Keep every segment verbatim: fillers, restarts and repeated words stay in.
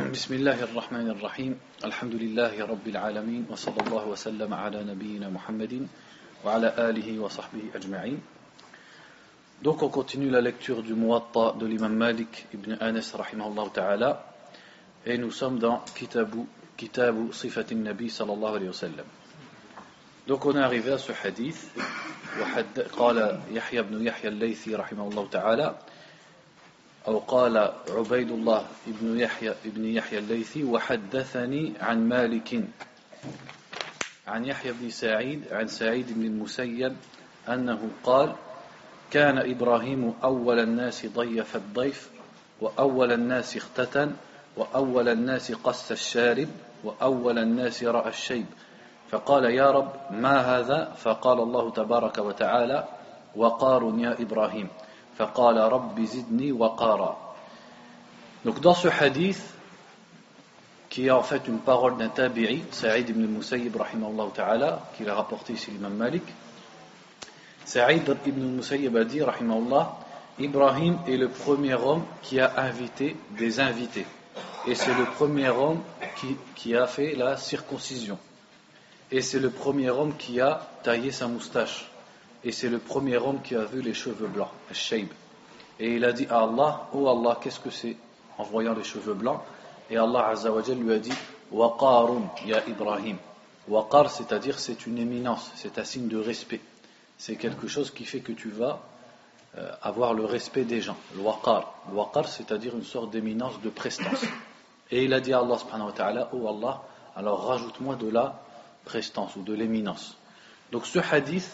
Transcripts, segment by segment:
بسم الله الرحمن الرحيم الحمد لله رب العالمين وصلى الله وسلم على نبينا محمد وعلى آله وصحبه أجمعين. Donc on continue la lecture du Muwatta de l'imam Malik ibn Anas rahimahullah ta'ala et nous sommes dans Kitabu, Kitabu Sifatin Nabi sallallahu alayhi wa sallam. Donc on est arrivé à ce hadith قال يحيى بن يحيى الليثي رحمه الله تعالى أو قال عبيد الله ابن يحيى ابن يحيى الليثي وحدثني عن مالك عن يحيى بن سعيد عن سعيد بن المسيب أنه قال كان إبراهيم أول الناس ضيف الضيف وأول الناس اختتن وأول الناس قص الشارب وأول الناس رأى الشيب فقال يا رب ما هذا فقال الله تبارك وتعالى وقار يا إبراهيم فقال رب زدني وقارا. Donc dans ce hadith qui est en fait une parole d'un tabi'i, Sa'id ibn al-Musayyib rahimahullah ta'ala, qui l'a rapporté ici l'imam Malik, Sa'id ibn al-Musayyib a dit rahimahullah, Ibrahim est le premier homme qui a invité des invités et c'est le premier homme qui, qui a fait la circoncision et c'est le premier homme qui a taillé sa moustache et c'est le premier homme qui a vu les cheveux blancs, al-shayb. Et il a dit à Allah, oh Allah, qu'est-ce que c'est en voyant les cheveux blancs? Et Allah Azza wa Jal lui a dit waqarun ya Ibrahim. Waqar, c'est-à-dire c'est une éminence, c'est un signe de respect, c'est quelque chose qui fait que tu vas euh, avoir le respect des gens. Le waqar, le waqar, c'est-à-dire une sorte d'éminence, de prestance. Et il a dit à Allah subhanahu wa ta'ala, oh Allah, alors rajoute-moi de la prestance ou de l'éminence. Donc ce hadith,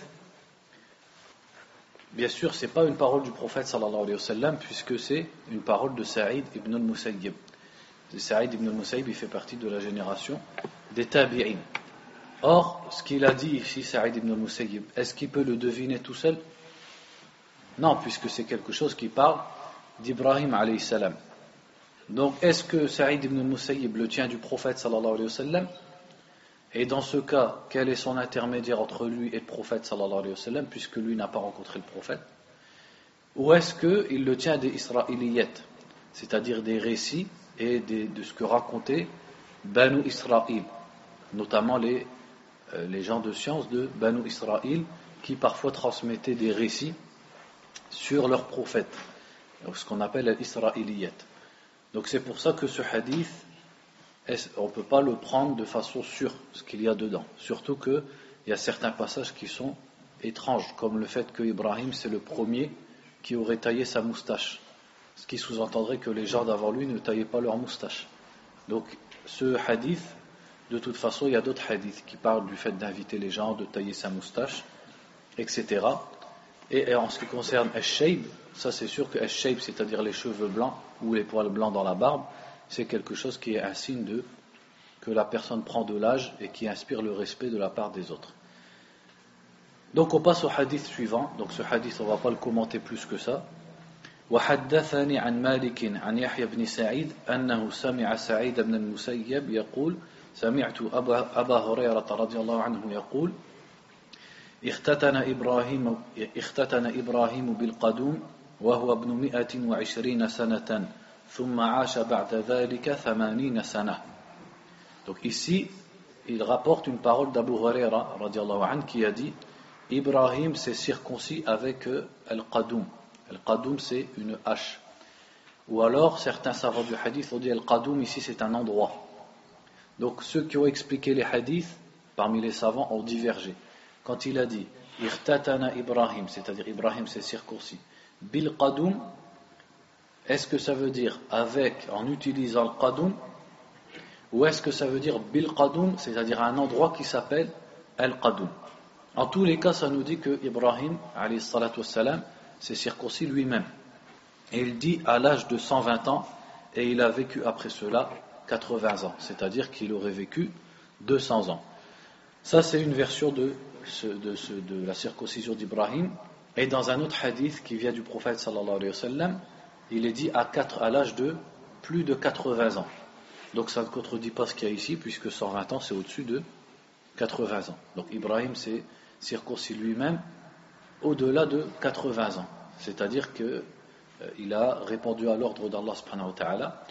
bien sûr, ce n'est pas une parole du prophète sallallahu alayhi wa sallam, puisque c'est une parole de Sa'id ibn al-Musayyib. Sa'id ibn al-Musayyib, il fait partie de la génération des tabi'in. Or, ce qu'il a dit ici, Sa'id ibn al-Musayyib, est-ce qu'il peut le deviner tout seul? Non, puisque c'est quelque chose qui parle d'Ibrahim alayhi salam. Donc, est-ce que Sa'id ibn al-Musayyib le tient du prophète sallallahu alayhi wa sallam? Et dans ce cas, quel est son intermédiaire entre lui et le prophète sallallahu alayhi wa sallam, puisque lui n'a pas rencontré le prophète? Ou est-ce qu'il le tient des Israéliyettes, c'est-à-dire des récits et des, de ce que racontait Banu Israël, notamment les, euh, les gens de science de Banu Israël, qui parfois transmettaient des récits sur leurs prophètes, ce qu'on appelle les Israéliyettes. Donc c'est pour ça que ce hadith, on ne peut pas le prendre de façon sûre, ce qu'il y a dedans. Surtout qu'il y a certains passages qui sont étranges, comme le fait que Ibrahim c'est le premier qui aurait taillé sa moustache. Ce qui sous-entendrait que les gens d'avant lui ne taillaient pas leur moustache. Donc ce hadith, de toute façon, il y a d'autres hadiths qui parlent du fait d'inviter les gens, de tailler sa moustache, et cetera. Et en ce qui concerne al-shayb, ça c'est sûr que al-shayb, c'est-à-dire les cheveux blancs ou les poils blancs dans la barbe, c'est quelque chose qui est un signe de que la personne prend de l'âge et qui inspire le respect de la part des autres. Donc on passe au hadith suivant. Donc ce hadith, on ne va pas le commenter plus que ça. وحدثني عن مالك عن يحيى بن سعيد أنه سمع سعيد بن المسيب يقول سمعت أبا, أبا هريرة رضي الله عنه يقول اختتن إبراهيم اختتن إبراهيم بالقدوم وهو ابن مئة وعشرين سنة ثم عاش بعد ذلك ثمانين سنة. Donc ici, il rapporte une parole d'Abu Huraira radiallahu anhu qui a dit Ibrahim s'est circoncis avec euh, Al-Qadoum. Al-Qadoum c'est une hache. Ou alors certains savants du hadith ont dit Al-Qadoum ici c'est un endroit. Donc ceux qui ont expliqué les hadiths parmi les savants ont divergé. Quand il a dit Irtatana Ibrahim, c'est-à-dire Ibrahim s'est circoncis, Bil Qadoum, est-ce que ça veut dire avec, en utilisant le qadoum, ou est-ce que ça veut dire bil qadoum, c'est-à-dire un endroit qui s'appelle al qadoum? En tous les cas, ça nous dit que Ibrahim, alayhi salatu wassalam, s'est circoncis lui-même. Et il dit à l'âge de cent vingt ans, et il a vécu après cela quatre-vingts ans, c'est-à-dire qu'il aurait vécu deux cents ans. Ça, c'est une version de, ce, de, ce, de la circoncision d'Ibrahim. Et dans un autre hadith qui vient du prophète sallallahu alayhi wa sallam, il est dit à, quatre, à l'âge de plus de quatre-vingts ans. Donc ça ne contredit pas ce qu'il y a ici, puisque cent vingt ans c'est au-dessus de quatre-vingts ans. Donc Ibrahim s'est circoncis lui-même au-delà de quatre-vingts ans. C'est-à-dire qu'il euh, a répondu à l'ordre d'Allah subhanahu wa ta'ala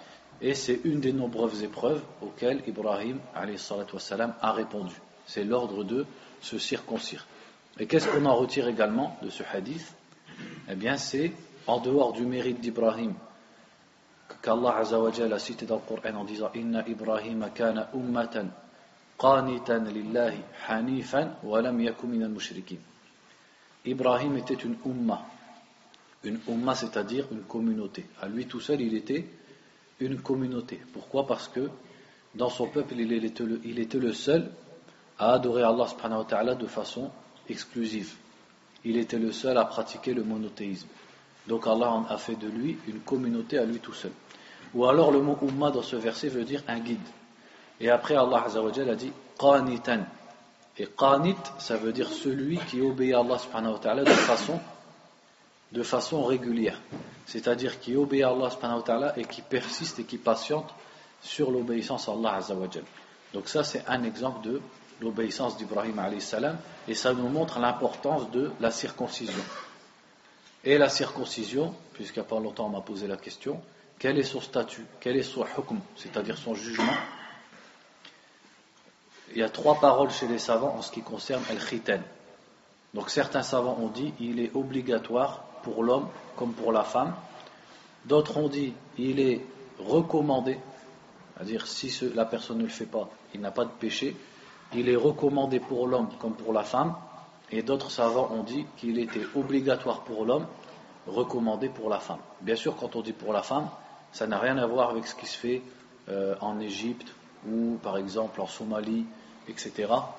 Et c'est une des nombreuses épreuves auxquelles Ibrahim alayhi salatu wassalam, a répondu. C'est l'ordre de se circoncire. Et qu'est-ce qu'on en retire également de ce hadith? Eh bien, c'est en dehors du mérite d'Ibrahim qu'Allah Azza wa Jalla a cité dans le Coran en disant Inna Ibrahim kana ummatan qanitan lillahi hanifan wa lam yaku minal mushrikin. Ibrahim était une umma. Une umma, c'est-à-dire une communauté. À lui tout seul, il était une communauté. Pourquoi? Parce que dans son peuple, il était le, il était le seul à adorer Allah subhanahu wa ta'ala de façon exclusive. Il était le seul à pratiquer le monothéisme. Donc Allah en a fait de lui une communauté à lui tout seul. Ou alors le mot umma dans ce verset veut dire un guide. Et après Allah Azza wa Jalla a dit qanitan. Et qanit, ça veut dire celui qui obéit à Allah subhanahu wa ta'ala de façon, de façon régulière. C'est-à-dire qui obéit à Allah subhanahu wa ta'ala et qui persiste et qui patiente sur l'obéissance à Allah Azza wa Jalla. Donc ça c'est un exemple de l'obéissance d'Ibrahim alayhi salam, et ça nous montre l'importance de la circoncision. Et la circoncision, puisqu'il n'y a pas longtemps on m'a posé la question, quel est son statut, quel est son hukm, c'est-à-dire son jugement? Il y a trois paroles chez les savants en ce qui concerne al-khitan. Donc certains savants ont dit il est obligatoire pour l'homme comme pour la femme. D'autres ont dit il est recommandé, c'est-à-dire si ce, la personne ne le fait pas, il n'a pas de péché. Il est recommandé pour l'homme comme pour la femme, et d'autres savants ont dit qu'il était obligatoire pour l'homme, recommandé pour la femme. Bien sûr, quand on dit pour la femme, ça n'a rien à voir avec ce qui se fait euh, en Égypte ou par exemple en Somalie, et cetera.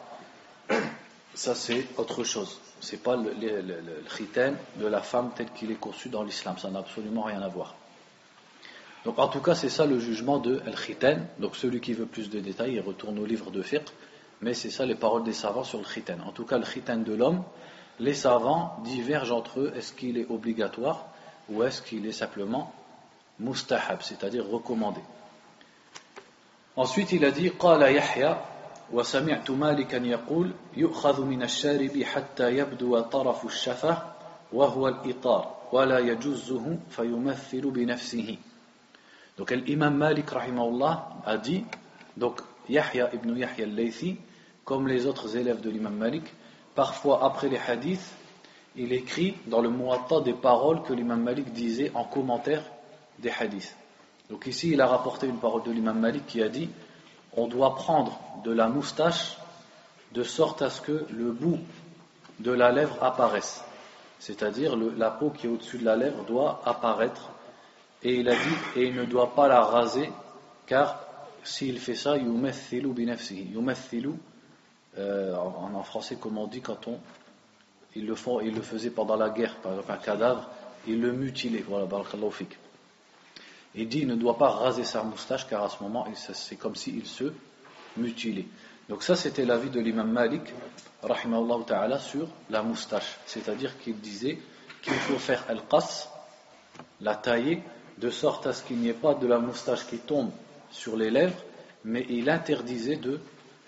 Ça c'est autre chose. C'est pas le, le, le, le khitan de la femme tel qu'il est conçu dans l'islam. Ça n'a absolument rien à voir. Donc en tout cas, c'est ça le jugement de al-khitan. Donc celui qui veut plus de détails, il retourne au livre de fiqh. Mais c'est ça les paroles des savants sur le khitan. En tout cas, le khitan de l'homme, les savants divergent entre eux. Est-ce qu'il est obligatoire ou est-ce qu'il est simplement mustahab, c'est-à-dire recommandé. Ensuite, il a dit قال يحيى وسمعت مالكا يقول يؤخذ من الشارب حتى يبدو طرف الشفة وهو الإطار ولا يجوزه فيمثل بنفسه. Donc l'imam Malik rahimahullah a dit, donc Yahya ibn Yahya al-Laythi, comme les autres élèves de l'imam Malik, parfois après les hadiths, il écrit dans le Muwatta des paroles que l'imam Malik disait en commentaire des hadiths. Donc ici il a rapporté une parole de l'imam Malik qui a dit on doit prendre de la moustache de sorte à ce que le bout de la lèvre apparaisse, c'est-à-dire le, la peau qui est au-dessus de la lèvre doit apparaître, et il a dit et il ne doit pas la raser car s'il fait ça yumathilu bi nafsihi. Yumathilu euh, en, en français comme on dit quand on ils le font, ils le faisaient pendant la guerre, par exemple un cadavre, ils le mutilaient. Voilà, barakallahu fik. Il dit il ne doit pas raser sa moustache car à ce moment c'est comme s'il se mutilait. Donc ça c'était l'avis de l'imam Malik rahimahullah ta'ala sur la moustache, c'est-à-dire qu'il disait qu'il faut faire al-qas, la tailler de sorte à ce qu'il n'y ait pas de la moustache qui tombe sur les lèvres, mais il interdisait de,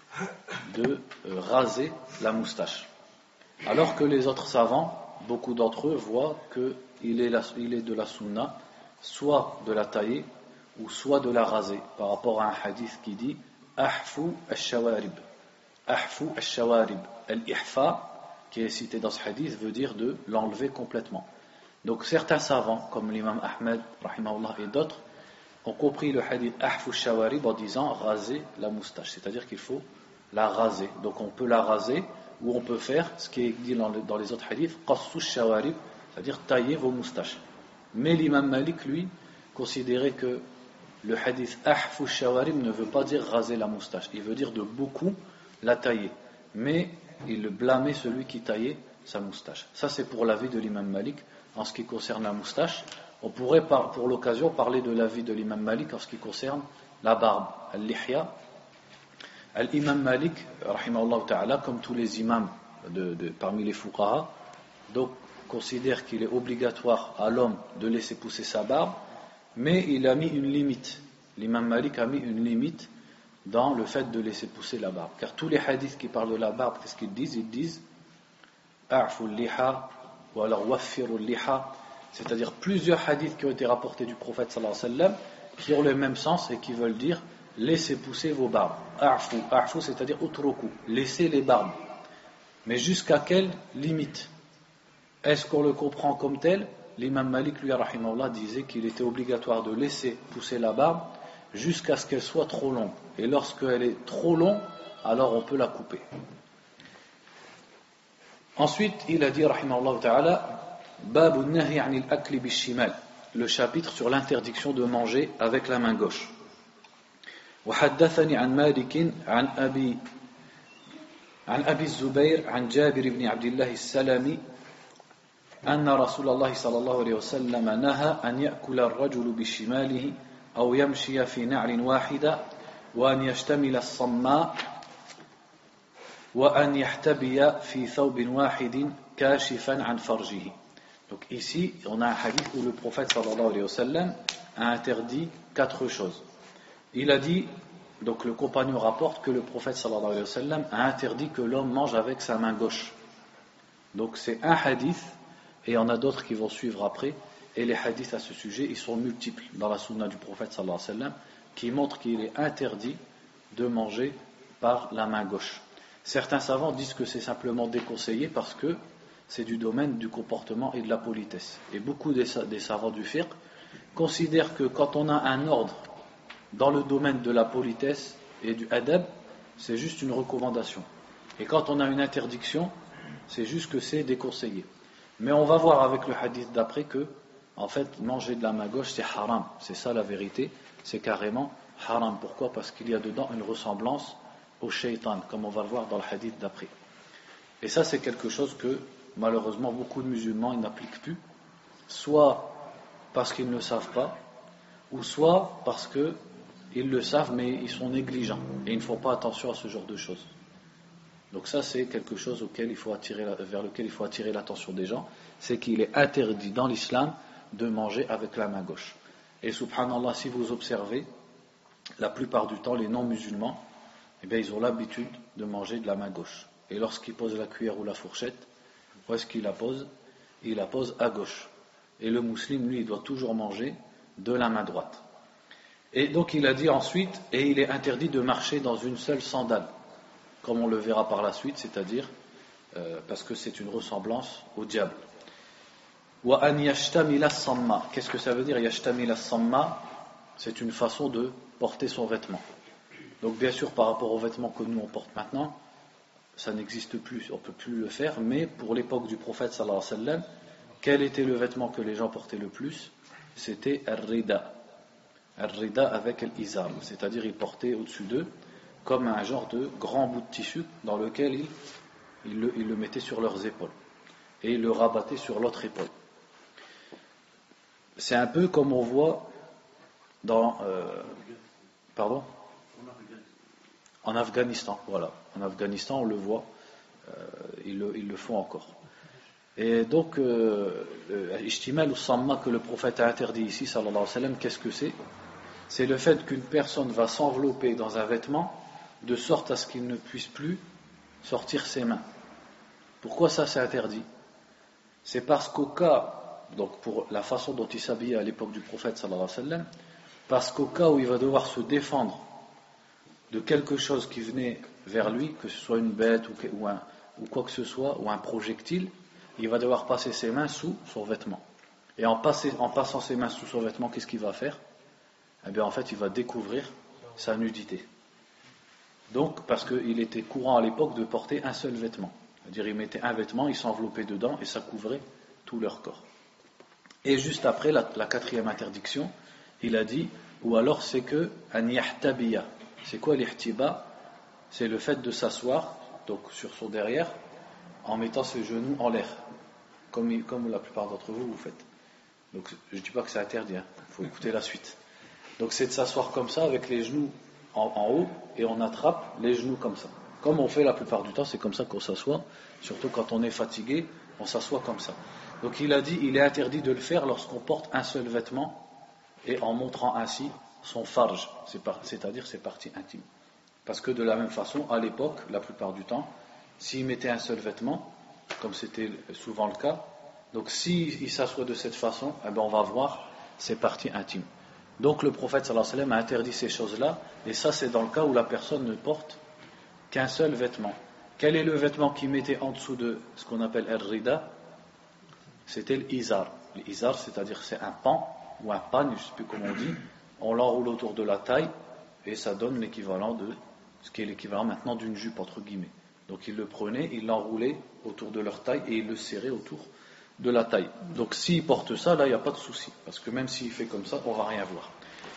de euh, raser la moustache. Alors que les autres savants, beaucoup d'entre eux voient qu'il est, la, il est de la sunna soit de la tailler ou soit de la raser, par rapport à un hadith qui dit ahfu al-shawarib. Ahfu al-shawarib. Al-ihfa, qui est cité dans ce hadith, veut dire de l'enlever complètement. Donc certains savants, comme l'imam Ahmed rahimahullah et d'autres, ont compris le hadith ahfu al-shawarib en disant raser la moustache, c'est-à-dire qu'il faut la raser. Donc on peut la raser ou on peut faire ce qui est dit dans, le, dans les autres hadiths qassu al-shawarib, c'est-à-dire tailler vos moustaches. Mais l'imam Malik, lui, considérait que le hadith ahfu shawarim ne veut pas dire raser la moustache, il veut dire de beaucoup la tailler. Mais il blâmait celui qui taillait sa moustache. Ça c'est pour l'avis de l'imam Malik en ce qui concerne la moustache. On pourrait pour l'occasion parler de l'avis de l'imam Malik en ce qui concerne la barbe, al-lihya. L'imam Malik, rahimahullah ta'ala, comme tous les imams de, de, parmi les fuqaha, donc considère qu'il est obligatoire à l'homme de laisser pousser sa barbe, mais il a mis une limite. L'imam Malik a mis une limite dans le fait de laisser pousser la barbe. Car tous les hadiths qui parlent de la barbe, qu'est-ce qu'ils disent? Ils disent a'fu liha ou alors waffiru liha, c'est-à-dire plusieurs hadiths qui ont été rapportés du prophète sallallahu alayhi wa sallam qui ont le même sens et qui veulent dire laissez pousser vos barbes. A'fu, a'fu c'est-à-dire utruku, laissez les barbes. Mais jusqu'à quelle limite? Est-ce qu'on le comprend comme tel? L'imam Malik, lui, rahimahullah, disait qu'il était obligatoire de laisser pousser la barbe jusqu'à ce qu'elle soit trop longue. Et lorsqu'elle est trop longue, alors on peut la couper. Ensuite, il a dit, rahimahullah ta'ala, Babu nahi anil akli bishimal, le chapitre sur l'interdiction de manger avec la main gauche. وحدثني عن مالك عن أبي عن أبي الزبير عن جابر بن عبد الله السلمي أن رسول الله صلى الله عليه وسلم نهى أن يأكل الرجل بشماله أو يمشي في نعل واحدة وأن يشتمل الصماء وأن يحتبي في ثوب واحد كاشفا عن فرجه. Donc ici, on a un hadith où le prophète sallallahu alayhi wa sallam a interdit quatre choses. Il a dit, donc le compagnon rapporte que le prophète sallallahu alayhi wa sallam a interdit que l'homme mange avec sa main gauche. Donc c'est un hadith, et il y en a d'autres qui vont suivre après, et les hadiths à ce sujet, ils sont multiples dans la sunna du prophète sallallahu alayhi wa sallam, qui montrent qu'il est interdit de manger par la main gauche. Certains savants disent que c'est simplement déconseillé parce que c'est du domaine du comportement et de la politesse. Et beaucoup des, des savants du fiqh considèrent que quand on a un ordre dans le domaine de la politesse et du adab, c'est juste une recommandation. Et quand on a une interdiction, c'est juste que c'est déconseillé. Mais on va voir avec le hadith d'après que, en fait, manger de la main gauche, c'est haram. C'est ça la vérité, c'est carrément haram. Pourquoi? Parce qu'il y a dedans une ressemblance au shaitan, comme on va le voir dans le hadith d'après. Et ça, c'est quelque chose que, malheureusement, beaucoup de musulmans ils n'appliquent plus, soit parce qu'ils ne savent pas, ou soit parce que ils le savent, mais ils sont négligents et ils ne font pas attention à ce genre de choses. Donc ça, c'est quelque chose auquel il faut attirer, vers lequel il faut attirer l'attention des gens, c'est qu'il est interdit dans l'islam de manger avec la main gauche. Et subhanallah, si vous observez, la plupart du temps, les non-musulmans, eh bien, ils ont l'habitude de manger de la main gauche. Et lorsqu'ils posent la cuillère ou la fourchette, où est-ce qu'ils la posent? Ils la posent à gauche. Et le musulman, lui, il doit toujours manger de la main droite. Et donc il a dit ensuite, et il est interdit de marcher dans une seule sandale, comme on le verra par la suite, c'est-à-dire euh, parce que c'est une ressemblance au diable. Wa an yashtamila samma. Qu'est-ce que ça veut dire yashtamila samma? C'est une façon de porter son vêtement. Donc bien sûr par rapport aux vêtements que nous on porte maintenant, ça n'existe plus, on ne peut plus le faire, mais pour l'époque du prophète sallallahu alayhi wa sallam, quel était le vêtement que les gens portaient le plus? C'était ar-rida. Ar-rida avec l'izam, c'est-à-dire ils portaient au-dessus d'eux comme un genre de grand bout de tissu dans lequel ils, ils, le, ils le mettaient sur leurs épaules et ils le rabattaient sur l'autre épaule. C'est un peu comme on voit dans euh, pardon en Afghanistan, voilà. En Afghanistan, on le voit, euh, ils, le, ils le font encore. Et donc, l'ishtimal ou samma que le prophète a interdit ici, sallallahu alayhi wa sallam, qu'est-ce que c'est? C'est le fait qu'une personne va s'envelopper dans un vêtement de sorte à ce qu'il ne puisse plus sortir ses mains. Pourquoi ça c'est interdit? C'est parce qu'au cas, donc pour la façon dont il s'habillait à l'époque du prophète, sallallahu alayhi wa sallam, parce qu'au cas où il va devoir se défendre de quelque chose qui venait vers lui, que ce soit une bête ou, ou, un, ou quoi que ce soit, ou un projectile, il va devoir passer ses mains sous son vêtement. Et en, passer, en passant ses mains sous son vêtement, qu'est-ce qu'il va faire? Eh bien, en fait, il va découvrir sa nudité. Donc, parce qu'il était courant à l'époque de porter un seul vêtement. C'est-à-dire, il mettait un vêtement, il s'enveloppait dedans et ça couvrait tout leur corps. Et juste après, la, la quatrième interdiction, il a dit, ou alors c'est que an yahtabiya. C'est quoi l'ihtiba? C'est le fait de s'asseoir, donc sur son derrière, en mettant ses genoux en l'air, comme, comme la plupart d'entre vous vous faites. Donc je ne dis pas que c'est interdit, il hein. faut écouter la suite. Donc c'est de s'asseoir comme ça, avec les genoux en, en haut, et on attrape les genoux comme ça. Comme on fait la plupart du temps, c'est comme ça qu'on s'assoit, surtout quand on est fatigué, on s'assoit comme ça. Donc il a dit, il est interdit de le faire lorsqu'on porte un seul vêtement, et en montrant ainsi son farj, c'est-à-dire ses parties intimes. Parce que de la même façon, à l'époque, la plupart du temps, s'il mettait un seul vêtement, comme c'était souvent le cas, donc s'il s'assoit de cette façon, eh ben on va voir ses parties intimes. Donc le prophète sallallahu alayhi wa sallam a interdit ces choses-là, et ça c'est dans le cas où la personne ne porte qu'un seul vêtement. Quel est le vêtement qu'il mettait en dessous de ce qu'on appelle al-rida? C'était l'izar. L'izar, c'est-à-dire c'est un pan ou un pagne, je ne sais plus comment on dit, on l'enroule autour de la taille et ça donne l'équivalent de ce qui est l'équivalent maintenant d'une jupe entre guillemets. Donc ils le prenaient, ils l'enroulaient autour de leur taille et ils le serraient autour de la taille. Donc s'il porte ça, là il n'y a pas de souci, parce que même s'il fait comme ça, on ne va rien voir.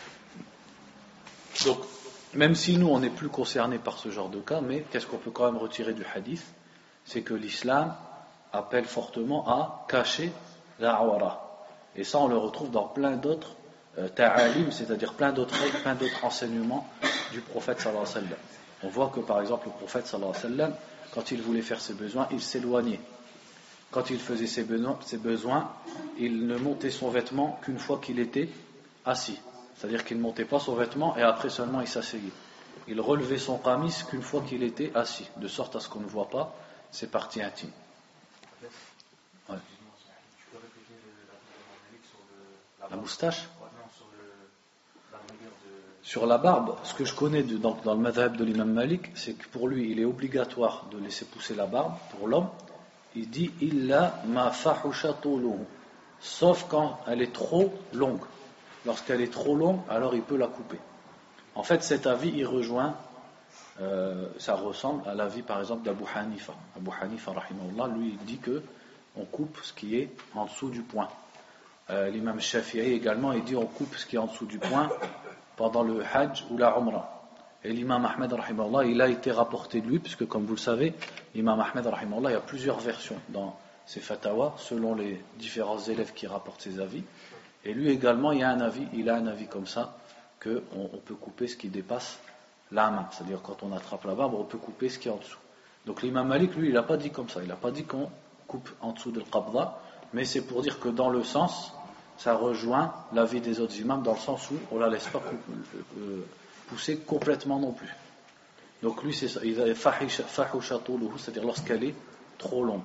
Donc même si nous on n'est plus concernés par ce genre de cas, mais qu'est-ce qu'on peut quand même retirer du hadith? C'est que l'islam appelle fortement à cacher la awara. Et ça on le retrouve dans plein d'autres euh, ta'alim, c'est-à-dire plein d'autres règles, plein d'autres enseignements du prophète sallallahu alayhi wa sallam. On voit que par exemple le prophète sallallahu alayhi wa sallam, quand il voulait faire ses besoins, il s'éloignait. Quand il faisait ses besoins, ses besoins, il ne montait son vêtement qu'une fois qu'il était assis. C'est-à-dire qu'il ne montait pas son vêtement et après seulement il s'asseyait. Il relevait son qamis qu'une fois qu'il était assis, de sorte à ce qu'on ne voit pas ses parties intimes. Ouais. La moustache? Sur la barbe, ce que je connais de, dans, dans le madhab de l'imam Malik, c'est que pour lui, il est obligatoire de laisser pousser la barbe pour l'homme. Il dit illa ma fahusha tuluhu, sauf quand elle est trop longue. Lorsqu'elle est trop longue, alors il peut la couper. En fait, cet avis, il rejoint, euh, ça ressemble à l'avis par exemple d'Abu Hanifa. Abu Hanifa, rahimahullah, lui, il dit que on coupe ce qui est en dessous du poing. Euh, l'imam Shafi'i également, il dit on coupe ce qui est en dessous du poing pendant le Hajj ou la Umrah. Et l'imam Ahmed, rahimahullah, il a été rapporté de lui, puisque comme vous le savez, l'imam Ahmed, rahimahullah, il y a plusieurs versions dans ses fatawas, selon les différents élèves qui rapportent ses avis. Et lui également, il y a un avis, il a un avis comme ça, qu'on on peut couper ce qui dépasse la main. C'est-à-dire quand on attrape la barbe, on peut couper ce qui est en dessous. Donc l'imam Malik, lui, il n'a pas dit comme ça. Il n'a pas dit qu'on coupe en dessous de l'qabda, mais c'est pour dire que dans le sens, ça rejoint l'avis des autres imams, dans le sens où on ne la laisse pas couper, euh, pousser complètement non plus. Donc lui, c'est ça. Il a fahusha tuluhu, c'est-à-dire lorsqu'elle est trop longue.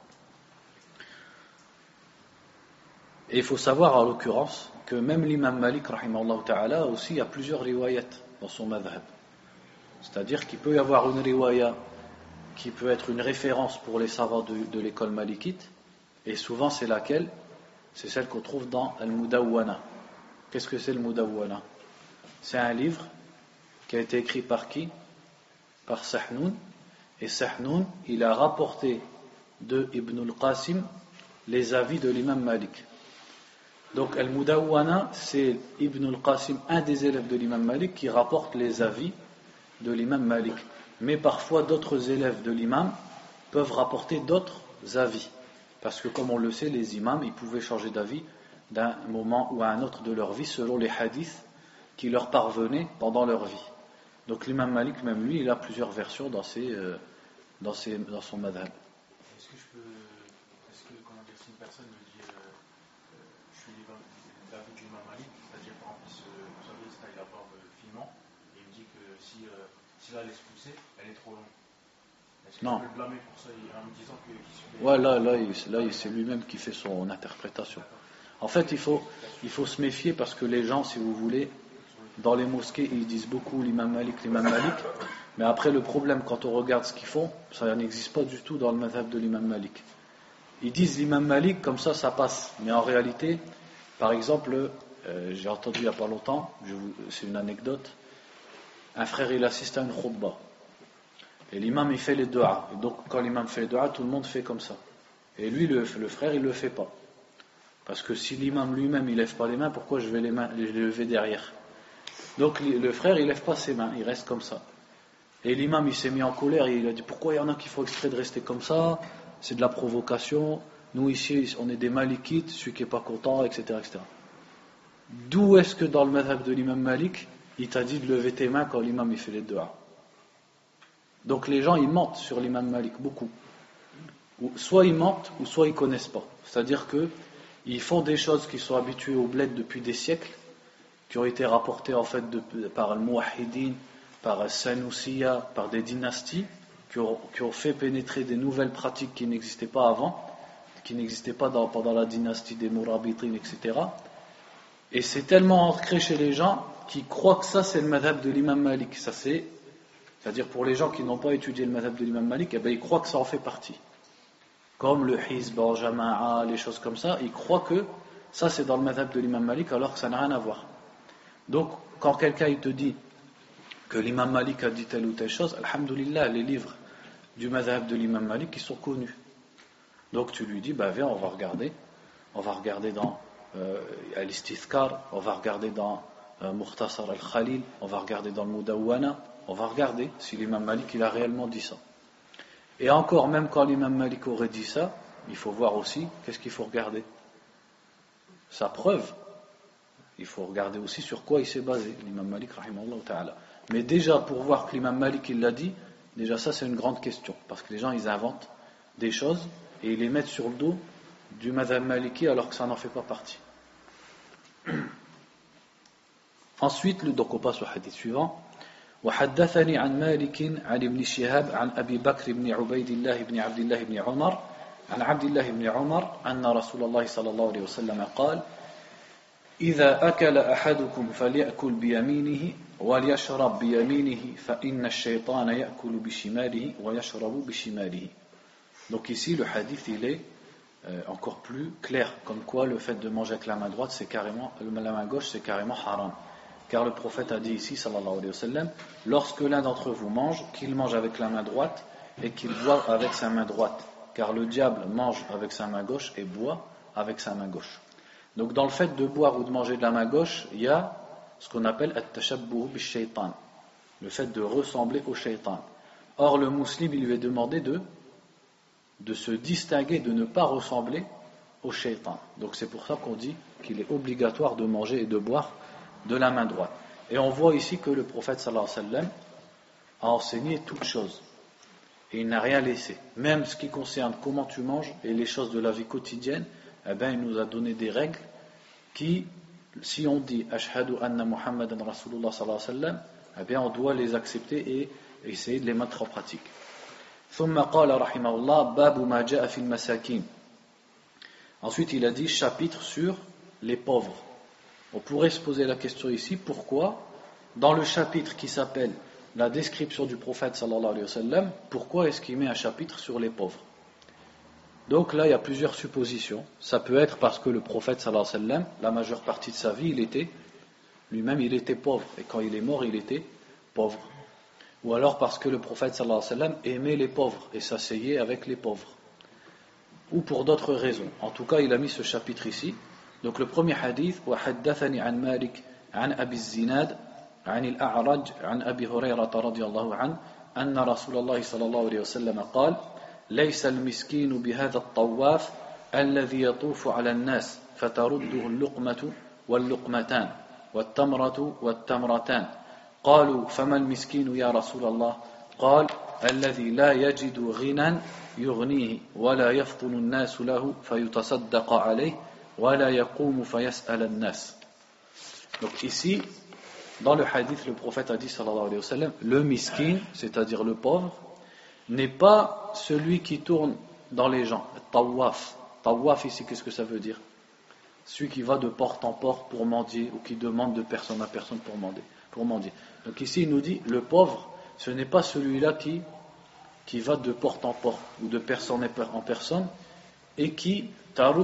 Et il faut savoir en l'occurrence que même l'imam Malik rahimahullah ta'ala aussi il y a plusieurs riwayat dans son madhab. C'est-à-dire qu'il peut y avoir une riwaya qui peut être une référence pour les savants de, de l'école malikite, et souvent c'est laquelle? C'est celle qu'on trouve dans Al-Mudawwana. Qu'est-ce que c'est le Mudawwana? C'est un livre qui a été écrit par qui? Par Sahnoun. Et Sahnoun, il a rapporté de Ibn al-Qasim les avis de l'imam Malik. Donc Al-Mudawwana, c'est Ibn al-Qasim, un des élèves de l'imam Malik, qui rapporte les avis de l'imam Malik. Mais parfois d'autres élèves de l'imam peuvent rapporter d'autres avis. Parce que comme on le sait, les imams, ils pouvaient changer d'avis d'un moment ou à un autre de leur vie selon les hadiths qui leur parvenaient pendant leur vie. Donc l'imam Malik, même lui, il a plusieurs versions dans, ses, euh, dans, ses, dans son madhab. Est-ce que je peux, est-ce que, comment dire, si une personne me dit, euh, euh, je suis l'avis du l'imam Malik, c'est-à-dire par exemple, ce, vous savez, il se taille la barbe finement, et il me dit que si, euh, si la laisse pousser, elle est trop longue. Est-ce que Non. je peux le blâmer pour ça en me disant que... qu'il Ouais, là, là, il, là, c'est lui-même qui fait son interprétation. En fait, il faut, il faut se méfier parce que les gens, si vous voulez, dans les mosquées, ils disent beaucoup l'imam Malik, l'imam Malik, mais après le problème, quand on regarde ce qu'ils font, ça n'existe pas du tout dans le madhab de l'imam Malik. Ils disent l'imam Malik, comme ça, ça passe. Mais en réalité, par exemple, euh, j'ai entendu il n'y a pas longtemps, je vous, c'est une anecdote, un frère, il assiste à une khutbah. Et l'imam, il fait les du'a. Et donc, quand l'imam fait les du'a, tout le monde fait comme ça. Et lui, le, le frère, il ne le fait pas. Parce que si l'imam lui-même, il ne lève pas les mains, pourquoi je vais les, mains, les lever derrière? Donc, le frère, il ne lève pas ses mains, il reste comme ça. Et l'imam, il s'est mis en colère, et il a dit, pourquoi il y en a qui font exprès de rester comme ça? C'est de la provocation. Nous, ici, on est des malikites, celui qui n'est pas content, et cetera, et cetera. D'où est-ce que dans le madhab de l'imam Malik, il t'a dit de lever tes mains quand l'imam, il fait les du'a? Donc les gens ils mentent sur l'imam Malik beaucoup. Soit ils mentent ou soit ils connaissent pas. C'est-à-dire que ils font des choses qui sont habitués au bled depuis des siècles, qui ont été rapportées en fait de, par al-Muwahhidin, par al-Sanusiya, par des dynasties qui ont, qui ont fait pénétrer des nouvelles pratiques qui n'existaient pas avant, qui n'existaient pas dans, pendant la dynastie des Mourabitin, et cetera. Et c'est tellement ancré chez les gens qui croient que ça c'est le madhab de l'imam Malik. Ça c'est, c'est-à-dire pour les gens qui n'ont pas étudié le madhab de l'imam Malik, eh ben ils croient que ça en fait partie. Comme le hizb, jama'a, les choses comme ça, ils croient que ça c'est dans le madhab de l'imam Malik alors que ça n'a rien à voir. Donc quand quelqu'un il te dit que l'imam Malik a dit telle ou telle chose, alhamdoulilah, les livres du madhab de l'imam Malik ils sont connus. Donc tu lui dis, bah viens on va regarder, on va regarder dans euh, Al-Istithkar, on va regarder dans euh, Mukhtasar al-Khalil, on va regarder dans le Mudawwana, on va regarder si l'imam Malik il a réellement dit ça. Et encore, même quand l'imam Malik aurait dit ça, il faut voir aussi, qu'est-ce qu'il faut regarder? Sa preuve. Il faut regarder aussi sur quoi il s'est basé, l'imam Malik, rahimahullah ta'ala. Mais déjà, pour voir que l'imam Malik il l'a dit, déjà ça c'est une grande question, parce que les gens ils inventent des choses et ils les mettent sur le dos du madhab maliki alors que ça n'en fait pas partie. Ensuite, donc on passe au hadith suivant. وحدثني عن مالك عن ابن شهاب عن أبي بكر بن عبيد الله بن عبد الله بن عمر عن عبد الله بن عمر أن رسول الله صلى الله عليه وسلم قال إذا أكل أحدكم فليأكل بيمينه وليشرب بيمينه فإن الشيطان يأكل بشماله ويشرب بشماله. Donc ici le hadith il est euh, encore plus clair, comme quoi le fait de manger avec la main droite c'est carrément, la main gauche c'est carrément haram. Car le prophète a dit ici, sallallahu alayhi wa sallam, lorsque l'un d'entre vous mange, qu'il mange avec la main droite et qu'il boive avec sa main droite. Car le diable mange avec sa main gauche et boit avec sa main gauche. Donc dans le fait de boire ou de manger de la main gauche, il y a ce qu'on appelle at-tashabbuh bi-shaytan, le fait de ressembler au shaytan. Or le musulman il lui est demandé de, de se distinguer, de ne pas ressembler au shaytan. Donc c'est pour ça qu'on dit qu'il est obligatoire de manger et de boire de la main droite. Et on voit ici que le prophète sallallahu alayhi wa sallam a enseigné toutes choses. Et il n'a rien laissé. Même ce qui concerne comment tu manges et les choses de la vie quotidienne, eh bien, il nous a donné des règles qui, si on dit Ashhadu anna Muhammadan Rasulullah sallallahu alayhi wa sallam, eh bien, on doit les accepter et essayer de les mettre en pratique. ثم قال رحمه الله باب ما جاء في المساكين. Ensuite, il a dit chapitre sur les pauvres. On pourrait se poser la question ici, pourquoi, dans le chapitre qui s'appelle la description du prophète sallallahu alayhi wa sallam, pourquoi est-ce qu'il met un chapitre sur les pauvres? Donc là, il y a plusieurs suppositions. Ça peut être parce que le prophète sallallahu alayhi wa sallam, la majeure partie de sa vie, il était, lui-même, il était pauvre. Et quand il est mort, il était pauvre. Ou alors parce que le prophète sallallahu alayhi wa sallam aimait les pauvres et s'asseyait avec les pauvres. Ou pour d'autres raisons. En tout cas, il a mis ce chapitre ici. Donc le premier hadith, وحدثني عن مالك عن أبي الزناد عن الأعرج عن أبي هريرة رضي الله عنه أن رسول الله صلى الله عليه وسلم قال ليس المسكين بهذا الطواف الذي يطوف على الناس فترده اللقمة واللقمتان والتمرة والتمرتان قالوا فما المسكين يا رسول الله قال الذي لا يجد غنى يغنيه ولا يفطن الناس له فيتصدق عليه Donc ici, dans le hadith, le prophète a dit sallallahu alayhi wa sallam, le miskin, c'est-à-dire le pauvre, n'est pas celui qui tourne dans les gens. Tawaf. Tawaf ici, qu'est-ce que ça veut dire? Celui qui va de porte en porte pour mendier ou qui demande de personne à personne pour mendier. Pour mendier. Donc ici, il nous dit, le pauvre, ce n'est pas celui-là qui, qui va de porte en porte ou de personne en personne et qui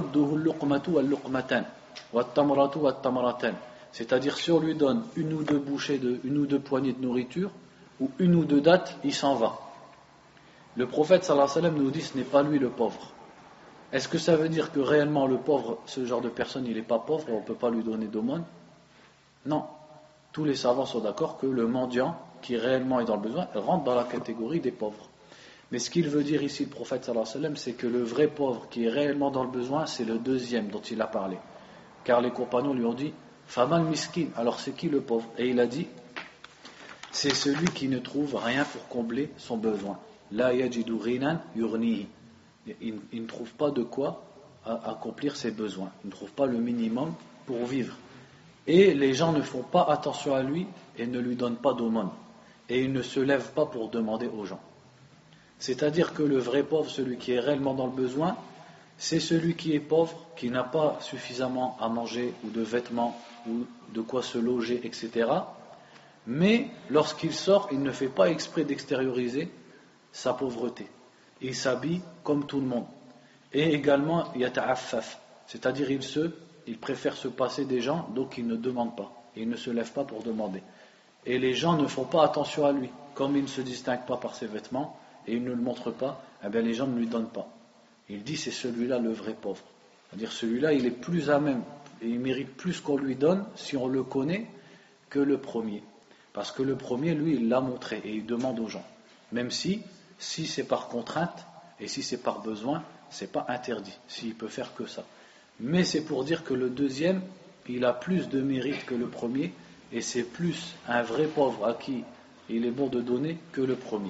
c'est-à-dire si on lui donne une ou deux bouchées de, une ou deux poignées de nourriture ou une ou deux dattes, il s'en va. Le prophète sallallahu alayhi wa sallam nous dit ce n'est pas lui le pauvre. Est-ce que ça veut dire que réellement le pauvre, ce genre de personne, il n'est pas pauvre et on ne peut pas lui donner d'aumône? Non. Tous les savants sont d'accord que le mendiant qui réellement est dans le besoin rentre dans la catégorie des pauvres. Mais ce qu'il veut dire ici, le prophète sallallahu alayhi wa sallam, c'est que le vrai pauvre qui est réellement dans le besoin, c'est le deuxième dont il a parlé. Car les compagnons lui ont dit, Faman miskin, alors c'est qui le pauvre? Et il a dit, c'est celui qui ne trouve rien pour combler son besoin. La yajidu ghinan yurnihi. Il ne trouve pas de quoi accomplir ses besoins. Il ne trouve pas le minimum pour vivre. Et les gens ne font pas attention à lui et ne lui donnent pas d'aumône. Et il ne se lève pas pour demander aux gens. C'est-à-dire que le vrai pauvre, celui qui est réellement dans le besoin, c'est celui qui est pauvre, qui n'a pas suffisamment à manger ou de vêtements ou de quoi se loger, et cetera. Mais lorsqu'il sort, il ne fait pas exprès d'extérioriser sa pauvreté. Il s'habille comme tout le monde. Et également, yata'affaf, c'est-à-dire il se, il préfère se passer des gens, donc il ne demande pas. Il ne se lève pas pour demander. Et les gens ne font pas attention à lui. Comme il ne se distingue pas par ses vêtements, et il ne le montre pas, eh bien les gens ne lui donnent pas. Il dit c'est celui-là le vrai pauvre. C'est-à-dire celui-là il est plus à même, et il mérite plus qu'on lui donne, si on le connaît, que le premier. Parce que le premier, lui, il l'a montré, et il demande aux gens. Même si, si c'est par contrainte, et si c'est par besoin, c'est pas interdit, s'il peut faire que ça. Mais c'est pour dire que le deuxième, il a plus de mérite que le premier, et c'est plus un vrai pauvre à qui il est bon de donner que le premier.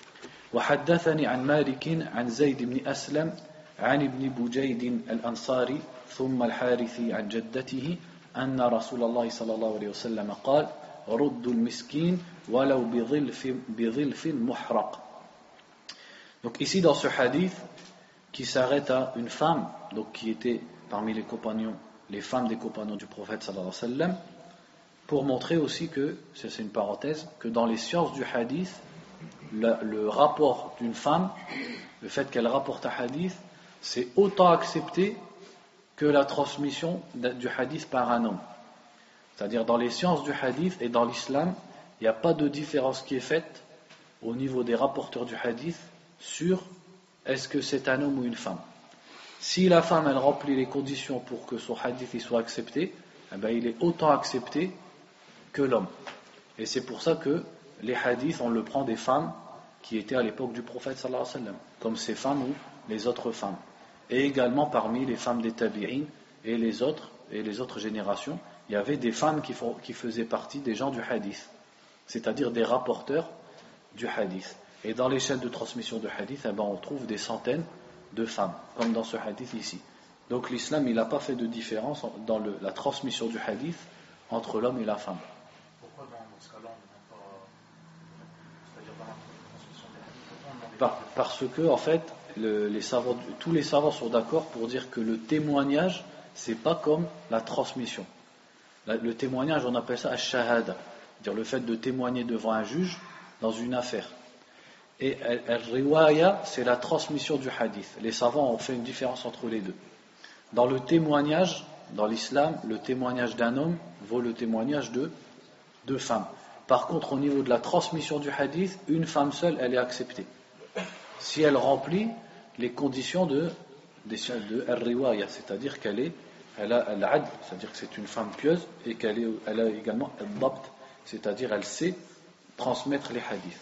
وحدثني عن مالك عن زيد بن أسلم عن ابن بجيد الأنصاري ثم الحارثي عن جدته أن رسول الله صلى الله عليه وسلم قال رد المسكين ولو بظلف بظلف محرق. Donc ici dans ce hadith qui s'arrête à une femme donc qui était parmi les compagnons, les femmes des compagnons du prophète sallallahu alayhi wa sallam, pour montrer aussi que, c'est une parenthèse, que dans les sciences du hadith, le, le rapport d'une femme, le fait qu'elle rapporte un hadith, c'est autant accepté que la transmission du hadith par un homme. C'est-à-dire dans les sciences du hadith et dans l'islam, il n'y a pas de différence qui est faite au niveau des rapporteurs du hadith sur est-ce que c'est un homme ou une femme. Si la femme elle remplit les conditions pour que son hadith il soit accepté, eh bien, il est autant accepté que l'homme. Et c'est pour ça que les hadiths, on le prend des femmes qui étaient à l'époque du prophète sallallahu alayhi wa sallam, comme ces femmes ou les autres femmes. Et également parmi les femmes des tabi'in et les autres, et les autres générations, il y avait des femmes qui, font, qui faisaient partie des gens du hadith, c'est-à-dire des rapporteurs du hadith. Et dans les chaînes de transmission de hadith, eh ben, on trouve des centaines de femmes, comme dans ce hadith ici. Donc l'islam, il n'a pas fait de différence dans le, la transmission du hadith entre l'homme et la femme. Pourquoi dans ce cas-là, on ne demande pas, c'est-à-dire dans la transmission du hadith, pourquoi on ne demande Par, pas parce que, en fait, le, les savants, tous les savants sont d'accord pour dire que le témoignage, c'est pas comme la transmission. La, le témoignage, on appelle ça ash-shahada, c'est-à-dire le fait de témoigner devant un juge dans une affaire. Et al-riwaya, c'est la transmission du hadith. Les savants ont fait une différence entre les deux. Dans le témoignage, dans l'islam, le témoignage d'un homme vaut le témoignage de deux femmes. Par contre, au niveau de la transmission du hadith, une femme seule, elle est acceptée. Si elle remplit les conditions de, de, de al-riwaya, c'est-à-dire qu'elle est, elle a al-adl, c'est-à-dire que c'est une femme pieuse, et qu'elle est, elle a également al-dabt, c'est-à-dire elle sait transmettre les hadiths.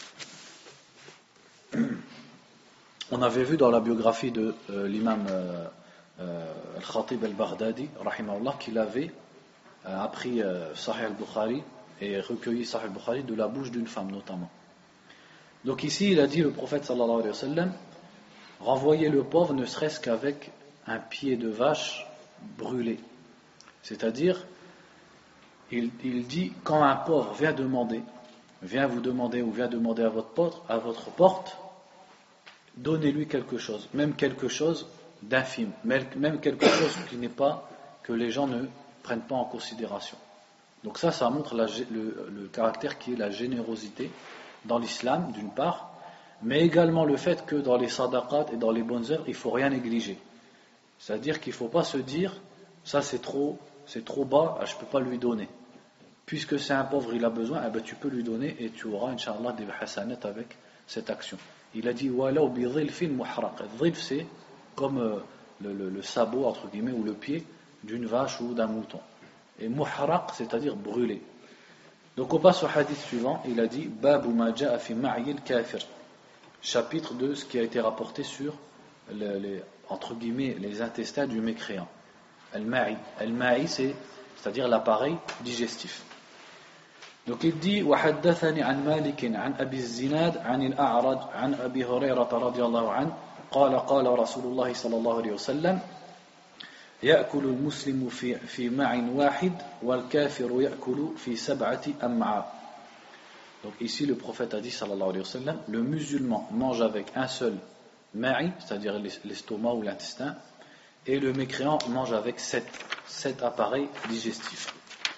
On avait vu dans la biographie de euh, l'imam euh, euh, Al-Khatib Al-Baghdadi rahimahullah qu'il avait euh, appris euh, Sahih Al-Bukhari et recueilli Sahih Al-Bukhari de la bouche d'une femme notamment. Donc ici il a dit le prophète sallallahu alayhi wa sallam, renvoyer le pauvre ne serait-ce qu'avec un pied de vache brûlé, c'est-à-dire il, il dit quand un pauvre vient demander vient vous demander ou vient demander à votre porte, à votre porte, donnez-lui quelque chose, même quelque chose d'infime, même quelque chose qui n'est pas, que les gens ne prennent pas en considération. Donc ça, ça montre la, le, le caractère qui est la générosité dans l'islam, d'une part, mais également le fait que dans les sadaqat et dans les bonnes œuvres, il ne faut rien négliger. C'est-à-dire qu'il ne faut pas se dire, ça c'est trop, c'est trop bas, je ne peux pas lui donner. Puisque c'est un pauvre, il a besoin, eh ben, tu peux lui donner et tu auras, Inch'Allah, des hasanat avec cette action. Il a dit, walaw bi dhilfin muhraq. Dhilf, c'est comme euh, le, le, le sabot, entre guillemets, ou le pied d'une vache ou d'un mouton. Et muhraq, c'est-à-dire brûlé. Donc on passe au hadith suivant, il a dit, babu ma ja'a fi ma'yil kafir. Chapitre de ce qui a été rapporté sur, le, les, entre guillemets, les intestins du mécréant. Al-ma'i. Al-ma'i, c'est, c'est-à-dire l'appareil digestif. Donc il dit وحدثني عن مالك عن أبي الزناد عن الأعرج عن أبي هريرة رضي الله عنه قال قال رسول الله صلى الله عليه وسلم يأكل المسلم في في مع واحد والكافر يأكل في سبعة أمعاء. Donc ici le prophète a dit sallallahu alayhi wa sallam, le musulman mange avec un seul ma'i, c'est-à-dire l'estomac ou l'intestin, et le mécréant mange avec sept, sept appareils digestifs.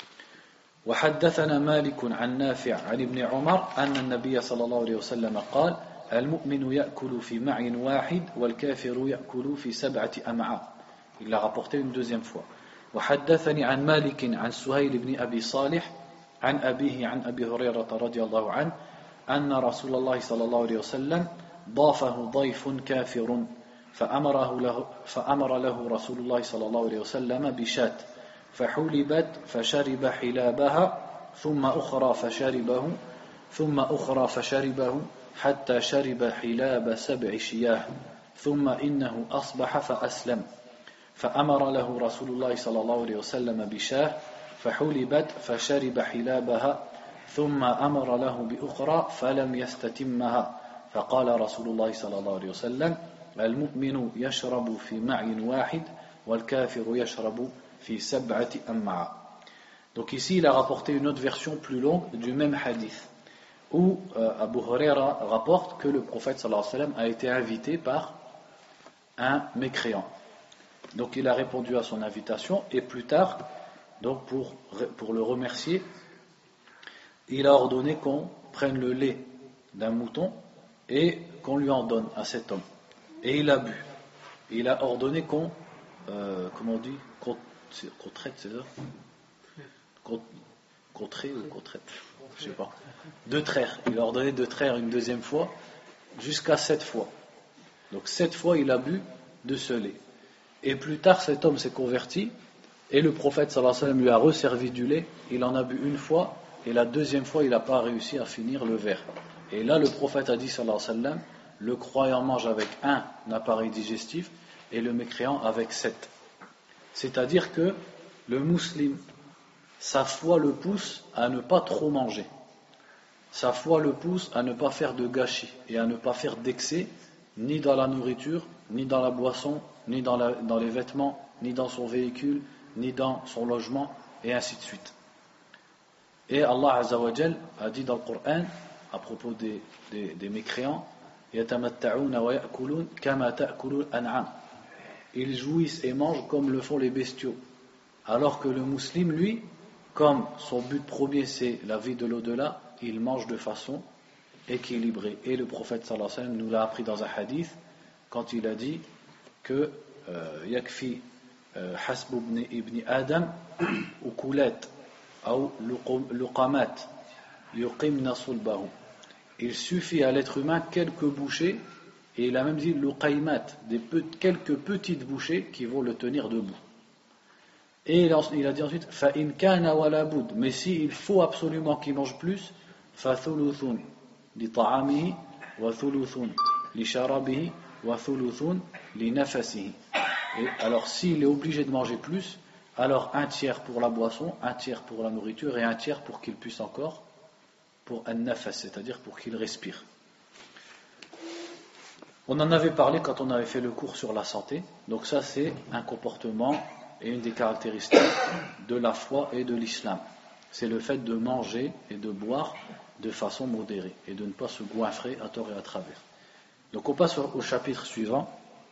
وحدثنا مالك عن نافع عن ابن عمر أن النبي صلى الله عليه وسلم قال المؤمن يأكل في مع واحد والكافر يأكل في سبعة أمعاء. Il l'a rapporté une deuxième fois. وحدثني عن مالك عن سهيل بن أبي صالح عن أبيه عن أبي هريرة رضي الله عنه أن رسول الله صلى الله عليه وسلم ضافه ضيف كافر فأمره له فأمر له رسول الله صلى الله عليه وسلم بشاة فحلبت فشرب حلابها ثم أخرى فشربه ثم أخرى فشربه حتى شرب حلاب سبع شياه ثم إنه أصبح فأسلم فأمر له رسول الله صلى الله عليه وسلم بشاه فحلبت فشرب حلابها ثم أمر له بأخرى فلم يستتمها فقال رسول الله صلى الله عليه وسلم المؤمن يشرب في مع واحد والكافر يشرب في سبعة أمعاء. Donc ici il a rapporté une autre version plus longue du même hadith où euh, Abu Huraira rapporte que le prophète sallallahu alayhi wa sallam a été invité par un mécréant. Donc il a répondu à son invitation et plus tard, donc pour, pour le remercier, il a ordonné qu'on prenne le lait d'un mouton et qu'on lui en donne à cet homme. Et il a bu. Il a ordonné qu'on, euh, comment on dit, qu'on, qu'on traite, c'est ça qu'on, qu'on traite ou qu'on traite, je sais pas. De traire. Il a ordonné de traire une deuxième fois jusqu'à sept fois. Donc sept fois il a bu de ce lait. Et plus tard cet homme s'est converti et le prophète sallallahu alayhi wa sallam lui a resservi du lait. Il en a bu une fois et la deuxième fois il n'a pas réussi à finir le verre. Et là le prophète a dit sallallahu alayhi wa sallam, le croyant mange avec un appareil digestif et le mécréant avec sept. C'est-à-dire que le musulman, sa foi le pousse à ne pas trop manger. Sa foi le pousse à ne pas faire de gâchis et à ne pas faire d'excès, ni dans la nourriture, ni dans la boisson, ni dans, la, dans les vêtements, ni dans son véhicule, ni dans son logement, et ainsi de suite. Et Allah Azza wa Jal a dit dans le Coran, à propos des, des, des mécréants, يَتَمَتَّعُونَ وَيَأْكُلُونَ كَمَا تَأْكُلُ الْأَنْعَامُ. Ils jouissent et mangent comme le font les bestiaux. Alors que le musulman, lui, comme son but premier c'est la vie de l'au-delà, il mange de façon équilibrée. Et le prophète sallallahu alayhi wa sallam nous l'a appris dans un hadith quand il a dit que yakfi hasb ibn Adam ukulat ou luqamat yuqimna sulbahu. Il suffit à l'être humain quelques bouchées, et il a même dit luqaymat, des pe- quelques petites bouchées qui vont le tenir debout. Et il a, il a dit ensuite fa in kana wala bud, mais si il faut absolument qu'il mange plus, fa thuluthun li ta'amihi wa thuluthun li sharabihi wa thuluthun li nafasihi. Et alors s'il est obligé de manger plus, alors un tiers pour la boisson, un tiers pour la nourriture et un tiers pour qu'il puisse encore pour un nafas, c'est-à-dire pour qu'il respire. On en avait parlé quand on avait fait le cours sur la santé. Donc ça c'est un comportement et une des caractéristiques de la foi et de l'islam. C'est le fait de manger et de boire de façon modérée et de ne pas se goinfrer à tort et à travers. Donc on passe au chapitre suivant.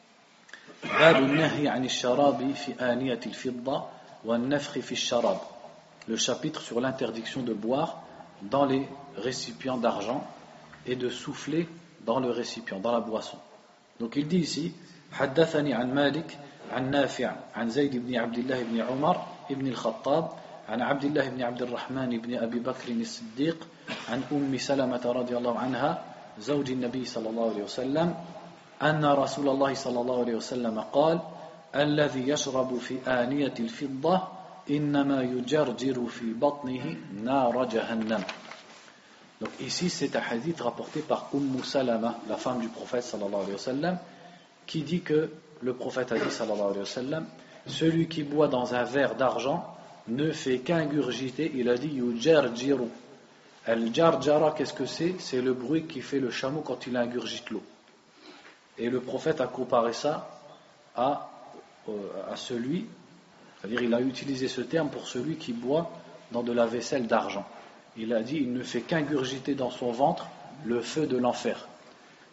Le chapitre sur l'interdiction de boire dans les récipients d'argent et de souffler dans le récipient, dans la boisson. Donc il dit ici حدثني عن مالك عن نافع عن زيد بن عبد الله بن عمر بن الخطاب عن عبد الله بن عبد الرحمن بن أبي بكر الصديق عن أم سلمة رضي الله عنها زوج النبي صلى الله عليه وسلم أن رسول الله صلى الله عليه وسلم قال الذي يشرب في آنية الفضة إنما يجرجر في بطنه نار جهنم. Donc ici c'est un hadith rapporté par Umm Salama, la femme du prophète sallallahu alayhi wa sallam, qui dit que le prophète a dit sallallahu alayhi wa sallam, celui qui boit dans un verre d'argent ne fait qu'ingurgiter, il a dit yujarjiru. Al-jarjara, qu'est-ce que c'est? C'est le bruit qui fait le chameau quand il ingurgite l'eau. Et le prophète a comparé ça à, à celui, c'est-à-dire il a utilisé ce terme pour celui qui boit dans de la vaisselle d'argent. Il a dit il ne fait qu'ingurgiter dans son ventre le feu de l'enfer.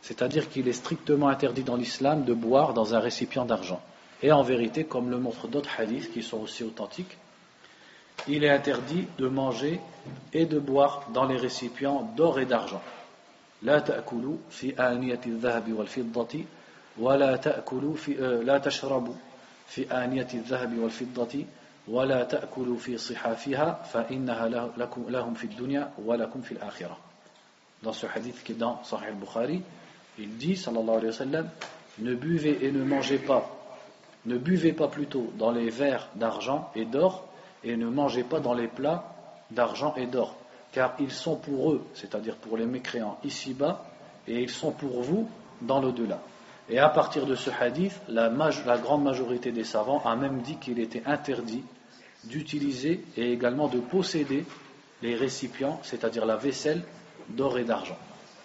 C'est-à-dire qu'il est strictement interdit dans l'islam de boire dans un récipient d'argent. Et en vérité, comme le montrent d'autres hadiths qui sont aussi authentiques, il est interdit de manger et de boire dans les récipients d'or et d'argent. لا تأكلوا في آنية الذهب والفضة ولا تأكلوا في لا تشربوا في آنية الذهب والفضة ولا تأكلوا في صحافها فإنها لكم لهم في الدنيا ولكم في الآخرة. Dans ce hadith qui est dans Sahih al-Bukhari, il dit sallallahu alayhi wa sallam, ne buvez et ne mangez pas, ne buvez pas plutôt dans les verres d'argent et d'or et ne mangez pas dans les plats d'argent et d'or, car ils sont pour eux, c'est-à-dire pour les mécréants ici-bas, et ils sont pour vous dans l'au-delà. Et à partir de ce hadith, la, maj- la grande majorité des savants a même dit qu'il était interdit d'utiliser et également de posséder les récipients, c'est-à-dire la vaisselle d'or et d'argent.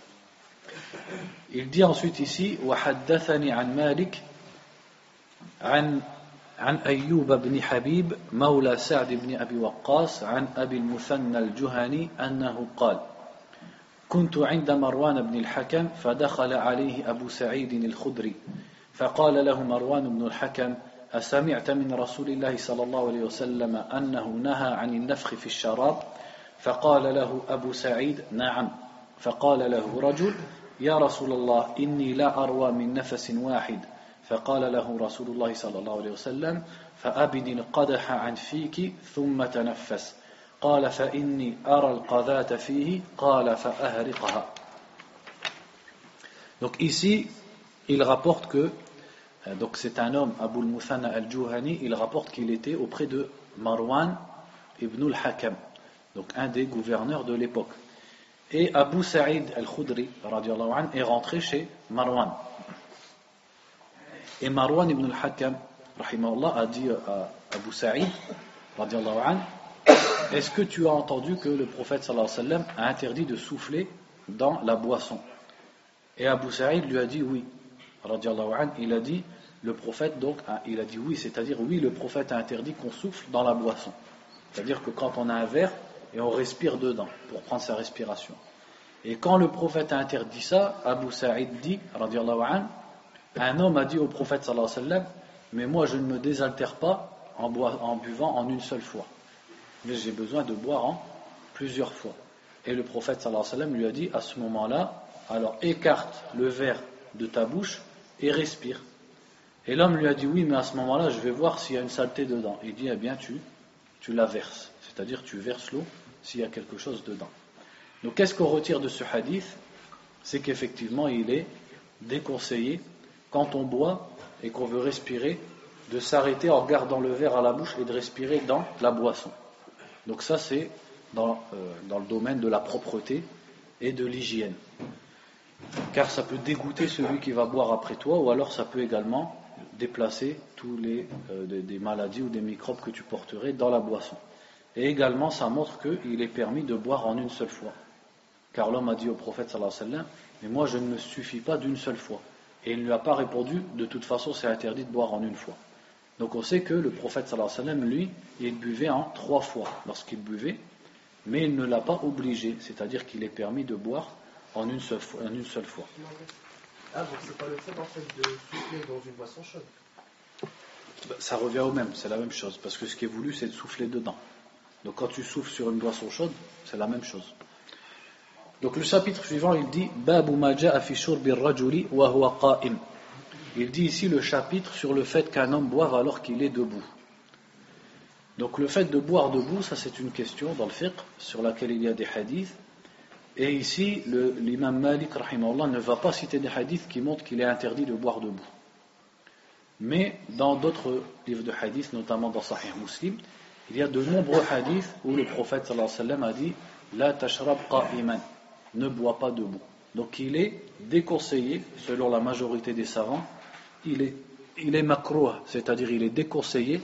Il dit ensuite ici وحدثني عن مالك عن عن أيوب بن حبيب مولى سعد بن أبي وقاص عن أبي المثنى الجهني أنه قال كنت عند مروان بن الحكم فدخل عليه أبو سعيد الخدري فقال له مروان بن الحكم أسمعت من رسول الله صلى الله عليه وسلم أنه نهى عن النفخ في الشراب فقال له أبو سعيد نعم فقال له رجل يا رسول الله إني لا أروى من نفس واحد فقال له رسول الله صلى الله عليه وسلم فأبد القدح عن فيك ثم تنفس قال فإني أرى القذاة فيه قال فأهرقها. Donc ici il rapporte que donc c'est un homme Abu al-Muthanna al-Juhani, il rapporte qu'il était auprès de Marwan ibn al-Hakam, donc un des gouverneurs de l'époque, et Abu Sa'id al-Khudri radiyallahu anhu est rentré chez Marwan. Et Marwan ibn al-Hakam, rahimahullah, a dit à Abu Sa'id, radiallahu anhu, est-ce que tu as entendu que le prophète sallallahu alayhi wa sallam a interdit de souffler dans la boisson? Et Abu Sa'id lui a dit oui, radiallahu anhu, il a dit, le prophète donc, il a dit oui, c'est-à-dire oui, le prophète a interdit qu'on souffle dans la boisson. C'est-à-dire que quand on a un verre et on respire dedans pour prendre sa respiration. Et quand le prophète a interdit ça, Abu Sa'id dit, radiallahu anhu, un homme a dit au prophète sallallahu alayhi wa sallam, mais moi je ne me désaltère pas en, boi- en buvant en une seule fois, mais j'ai besoin de boire en plusieurs fois. Et le prophète sallallahu alayhi wa sallam lui a dit à ce moment-là, alors écarte le verre de ta bouche et respire. Et l'homme lui a dit oui, mais à ce moment-là je vais voir s'il y a une saleté dedans. Il dit eh bien tu, tu la verses, c'est-à-dire tu verses l'eau s'il y a quelque chose dedans. Donc qu'est-ce qu'on retire de ce hadith? C'est qu'effectivement il est déconseillé quand on boit et qu'on veut respirer, de s'arrêter en gardant le verre à la bouche et de respirer dans la boisson. Donc ça c'est dans, euh, dans le domaine de la propreté et de l'hygiène. Car ça peut dégoûter celui qui va boire après toi, ou alors ça peut également déplacer tous les euh, des, des maladies ou des microbes que tu porterais dans la boisson. Et également ça montre qu'il est permis de boire en une seule fois. Car l'homme a dit au prophète sallallahu alayhi wa sallam, mais moi je ne me suffis pas d'une seule fois. Et il ne lui a pas répondu, de toute façon c'est interdit de boire en une fois. Donc on sait que le prophète sallallahu alayhi wa sallam, lui, il buvait en trois fois lorsqu'il buvait, mais il ne l'a pas obligé, c'est-à-dire qu'il est permis de boire en une seule fois. En une seule fois. Ah, donc c'est pas le fait en fait de souffler dans une boisson chaude. Ça revient au même, c'est la même chose, parce que ce qui est voulu c'est de souffler dedans. Donc quand tu souffles sur une boisson chaude, c'est la même chose. Donc le chapitre suivant, il dit Babu ma ja'a fi shurbi ar-rajuli wa huwa qa'im. Il dit ici le chapitre sur le fait qu'un homme boive alors qu'il est debout. Donc le fait de boire debout, ça c'est une question dans le fiqh sur laquelle il y a des hadiths. Et ici, le, l'imam Malik rahimahullah ne va pas citer des hadiths qui montrent qu'il est interdit de boire debout. Mais dans d'autres livres de hadiths, notamment dans Sahih Muslim, il y a de nombreux hadiths où le prophète sallallahu alayhi wa sallam a dit La tashrab qa'iman, ne bois pas debout. Donc il est déconseillé, selon la majorité des savants, il est, il est makrouh, c'est-à-dire il est déconseillé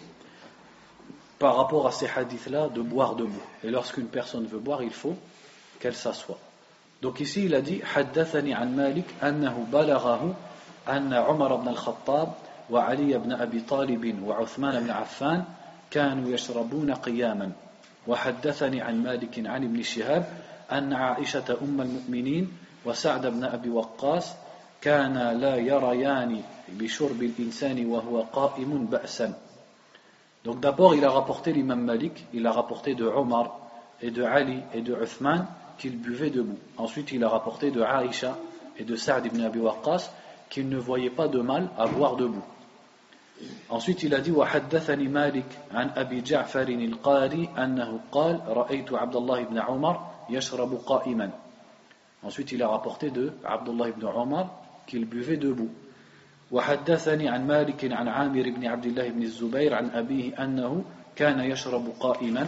par rapport à ces hadiths-là de boire debout. Et lorsqu'une personne veut boire, il faut qu'elle s'assoie. Donc ici il a dit حدثني عن مالك أنه بلغه أن عمر بن الخطاب وعلي بن أبي طالب وعثمان بن عفان كانوا يشربون قياما وحدثني عن مالك عن ابن شهاب أن عائشة أم المؤمنين وسعد بن أبي وقاص كان لا يريان بشرب الإنسان وهو قائم بأسا. Donc d'abord il a rapporté l'imam Malik, il a rapporté de Omar et de Ali et de Uthman qu'ils buvaient debout. Ensuite il a rapporté de Aïcha et de Sa'd ibn Abi Waqqas qu'ils ne voyaient pas de mal à boire debout. Ensuite il a dit وحدثني مالك عن أبي جعفر القاري أنه قال رأيت عبد الله بن عمر يشرب قائما. Ensuite il a rapporté de Abdullah ibn Omar qu'il buvait debout. وحدثني عن مالك عن عامر بن عبد الله بن الزبير عن أبيه أنه كان يشرب قائما.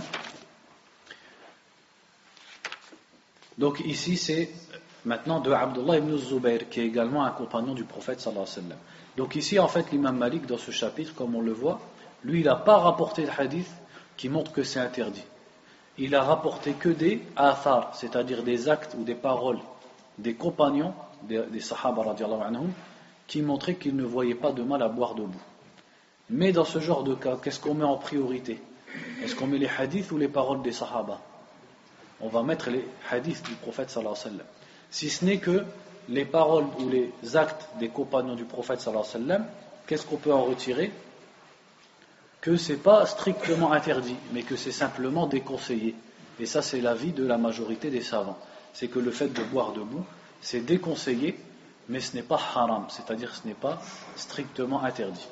Donc ici c'est maintenant de Abdullah ibn Zubayr qui est également un compagnon du prophète sallallahu alayhi wa sallam. Donc ici en fait l'imam Malik dans ce chapitre comme on le voit, lui il n'a pas rapporté de hadith qui montre que c'est interdit. Il a rapporté que des athar, c'est-à-dire des actes ou des paroles des compagnons des, des sahaba radiallahu anhum qui montraient qu'ils ne voyaient pas de mal à boire debout. Mais dans ce genre de cas, qu'est-ce qu'on met en priorité? Est-ce qu'on met les hadiths ou les paroles des sahaba? On va mettre les hadiths du prophète sallallahu alayhi wa sallam. Si ce n'est que les paroles ou les actes des compagnons du prophète sallallahu alayhi wa sallam, qu'est-ce qu'on peut en retirer? Que c'est pas strictement interdit, mais que c'est simplement déconseillé. Et ça c'est l'avis de la majorité des savants. C'est que le fait de boire debout, c'est déconseillé, mais ce n'est pas haram, c'est-à-dire ce n'est pas strictement interdit.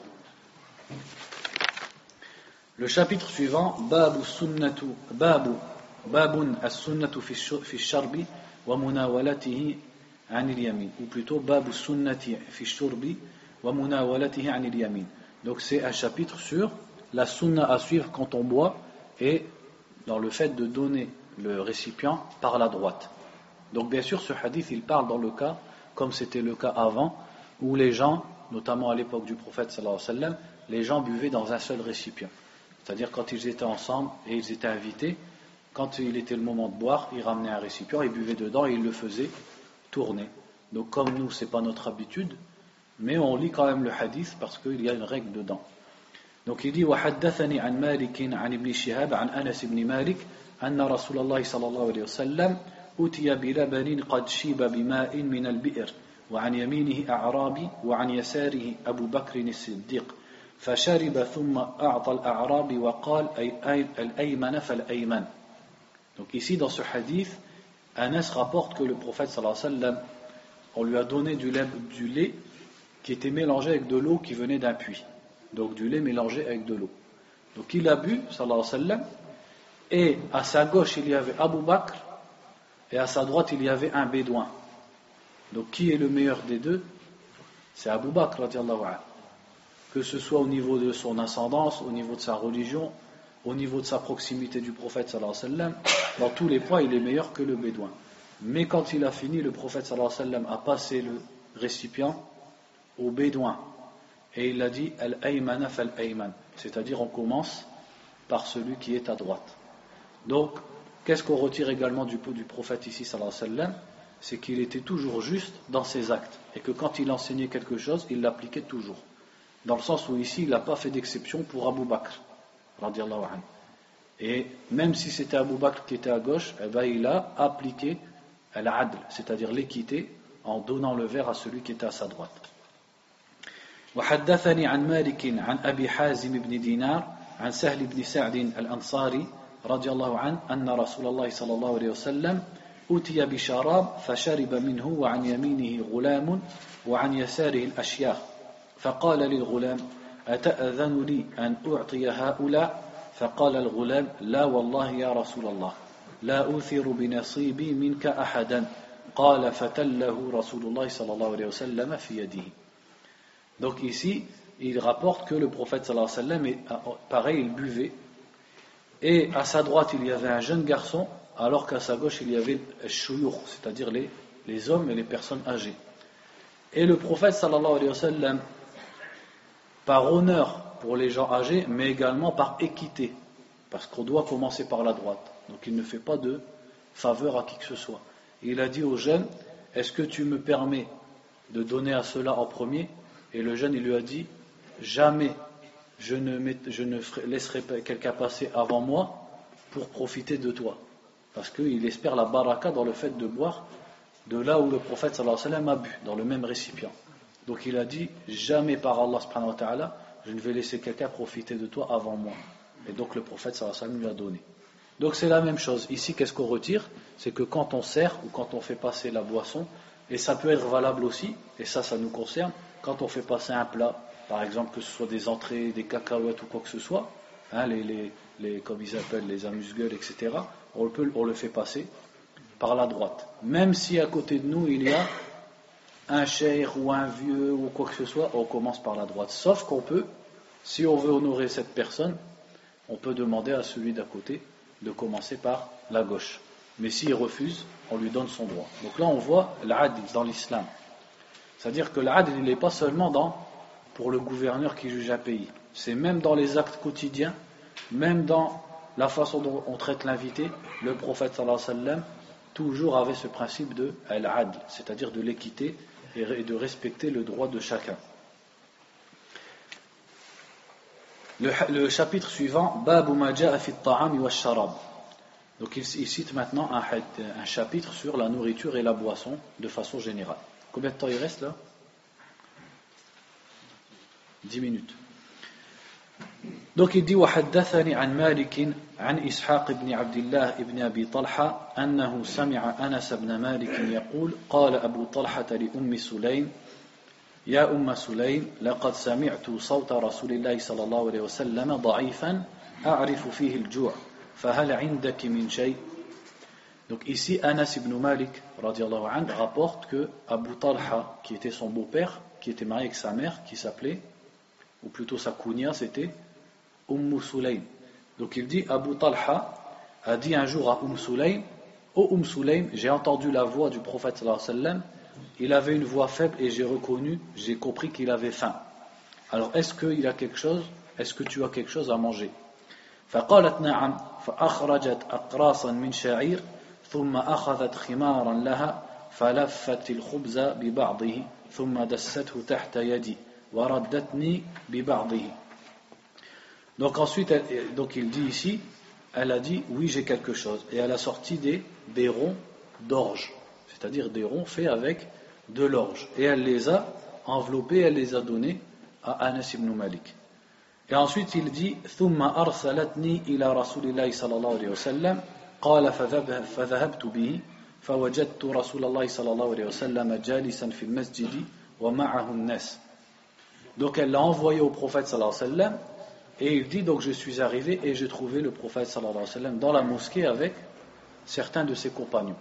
Le chapitre suivant, Babu sunnatu, Babu, Babun as-sunnatu fi sharbi wa munawalatihi anil yamin, ou plutôt Babu sunnati fi shurbi wa munawalatihi anil yamin. Donc c'est un chapitre sur la sunna à suivre quand on boit et dans le fait de donner le récipient par la droite. Donc bien sûr ce hadith il parle dans le cas comme c'était le cas avant où les gens, notamment à l'époque du prophète sallallahu alayhi wa sallam, les gens buvaient dans un seul récipient. C'est-à-dire quand ils étaient ensemble et ils étaient invités, quand il était le moment de boire, ils ramenaient un récipient, ils buvaient dedans et ils le faisaient tourner. Donc comme nous c'est pas notre habitude, mais on lit quand même le hadith parce qu'il y a une règle dedans. Donc il dit وحدثني عن مالك عن ابن شهاب عن أنس بن مالك أن رسول الله صلى الله عليه وسلم أتي بلبن قد شيب بماء من البئر وعن يمينه أعرابي وعن يساره أبو بكر الصديق فشرب ثم أعطى الأعرابي وقال أي الأيمن فالأيمن. Donc ici dans ce hadith, Anas rapporte que le prophète sallallahu alayhi wa sallam, on lui a donné du lait, du lait qui était mélangé avec de l'eau qui venait d'un puits. Donc du lait mélangé avec de l'eau. Donc il a bu, sallallahu alayhi wa sallam, et à sa gauche il y avait Abu Bakr, et à sa droite il y avait un bédouin. Donc qui est le meilleur des deux? C'est Abu Bakr, radiallahu anhu. Que ce soit au niveau de son ascendance, au niveau de sa religion, au niveau de sa proximité du prophète, sallallahu alayhi wa sallam, dans tous les points il est meilleur que le bédouin. Mais quand il a fini, le prophète, sallallahu alayhi wa sallam, a passé le récipient au bédouin. Et il a dit Al-Aymana fal-Ayman, c'est-à-dire on commence par celui qui est à droite. Donc, qu'est-ce qu'on retire également du, du prophète ici, sallallahu alayhi wa sallam? C'est qu'il était toujours juste dans ses actes, et que quand il enseignait quelque chose, il l'appliquait toujours. Dans le sens où ici, il n'a pas fait d'exception pour Abu Bakr, radiallahu anhu. Et même si c'était Abu Bakr qui était à gauche, eh ben, il a appliqué al-adl, c'est-à-dire l'équité, en donnant le verre à celui qui était à sa droite. وحدثني عن مالك عن أبي حازم بن دينار عن سهل بن سعد الأنصاري رضي الله عنه أن رسول الله صلى الله عليه وسلم أتي بشراب فشرب منه وعن يمينه غلام وعن يساره الأشياخ فقال للغلام أتأذن لي أن أعطي هؤلاء فقال الغلام لا والله يا رسول الله لا أوثر بنصيبي منك أحدا قال فتله رسول الله صلى الله عليه وسلم في يده. Donc ici, il rapporte que le prophète sallallahu alayhi wa sallam, pareil, il buvait, et à sa droite il y avait un jeune garçon, alors qu'à sa gauche il y avait le shuyukh, c'est-à-dire les, les hommes et les personnes âgées. Et le prophète sallallahu alayhi wa sallam, par honneur pour les gens âgés, mais également par équité, parce qu'on doit commencer par la droite. Donc il ne fait pas de faveur à qui que ce soit. Et il a dit aux jeunes, est-ce que tu me permets de donner à cela en premier? Et le jeune, il lui a dit, jamais je ne, met, je ne laisserai quelqu'un passer avant moi pour profiter de toi. Parce qu'il espère la baraka dans le fait de boire de là où le prophète sallallahu alayhi wa sallam a bu, dans le même récipient. Donc il a dit, jamais par Allah subhanahu wa ta'ala, je ne vais laisser quelqu'un profiter de toi avant moi. Et donc le prophète sallallahu alayhi wa sallam lui a donné. Donc c'est la même chose. Ici, qu'est-ce qu'on retire? C'est que quand on sert ou quand on fait passer la boisson, et ça peut être valable aussi, et ça, ça nous concerne, quand on fait passer un plat, par exemple que ce soit des entrées, des cacahuètes ou quoi que ce soit, hein, les, les, les, comme ils appellent les amuse-gueules, et cetera, on, peut, on le fait passer par la droite. Même si à côté de nous, il y a un cheikh ou un vieux ou quoi que ce soit, on commence par la droite. Sauf qu'on peut, si on veut honorer cette personne, on peut demander à celui d'à côté de commencer par la gauche. Mais s'il refuse, on lui donne son droit. Donc là, on voit l'adl dans l'islam. C'est-à-dire que l'adl, il n'est pas seulement dans, pour le gouverneur qui juge un pays. C'est même dans les actes quotidiens, même dans la façon dont on traite l'invité. Le prophète sallallahu alayhi wa sallam toujours avait ce principe de al-adl, c'est-à-dire de l'équité et de respecter le droit de chacun. Le, le chapitre suivant, Babu ma ja'a fi at-ta'ami wash-sharab. Donc il, il cite maintenant un, un chapitre sur la nourriture et la boisson de façon générale. Combien de temps il reste là? Dix minutes. Donc il dit وحدثني عن مالك عن إسحاق بن عبد الله بن أبي طلحة أنه سمع أنس بن مالك يقول قال أبو طلحة لأم سليم يا أم سليم لقد سمعت صوت رسول الله صلى الله عليه وسلم ضعيفا أعرف فيه الجوع فهل عندك من شيء. Donc ici Anas ibn Malik radiallahu anhu rapporte que Abu Talha, qui était son beau-père, qui était marié avec sa mère, qui s'appelait, ou plutôt sa kunya, c'était Umm Sulaym. Donc il dit, Abu Talha a dit un jour à Umm Sulaym, ô Umm Sulaym, j'ai entendu la voix du prophète sallallahu alayhi wa sallam, il avait une voix faible et j'ai reconnu, j'ai compris qu'il avait faim. Alors est-ce qu'il a quelque chose, est-ce que tu as quelque chose à manger? فقالت نعم فأخرجت أقراصا من شعير ثم أخذت خمارا لها فلفت الخبز ببعضه ثم دسته تحت يدي وردتني ببعضه. Donc ensuite, elle, donc il dit ici, elle a dit oui j'ai quelque chose et elle a sorti des, des ronds d'orge, c'est-à-dire des ronds faits avec de l'orge et elle les a enveloppés, elle les a donnés à Anas ibn Malik. Et ensuite il dit ثم أرسلتني إلى رسول الله صلى الله عليه وسلم قال فذهبت به فوجدت رسول الله صلى الله عليه وسلم جالسا في المسجد ومعه الناس. Donc elle l'a envoyé au prophète sallallahu alayhi wa sallam et il dit donc je suis arrivé et j'ai trouvé le prophète sallallahu alayhi wa sallam dans la mosquée avec certains de ses compagnons.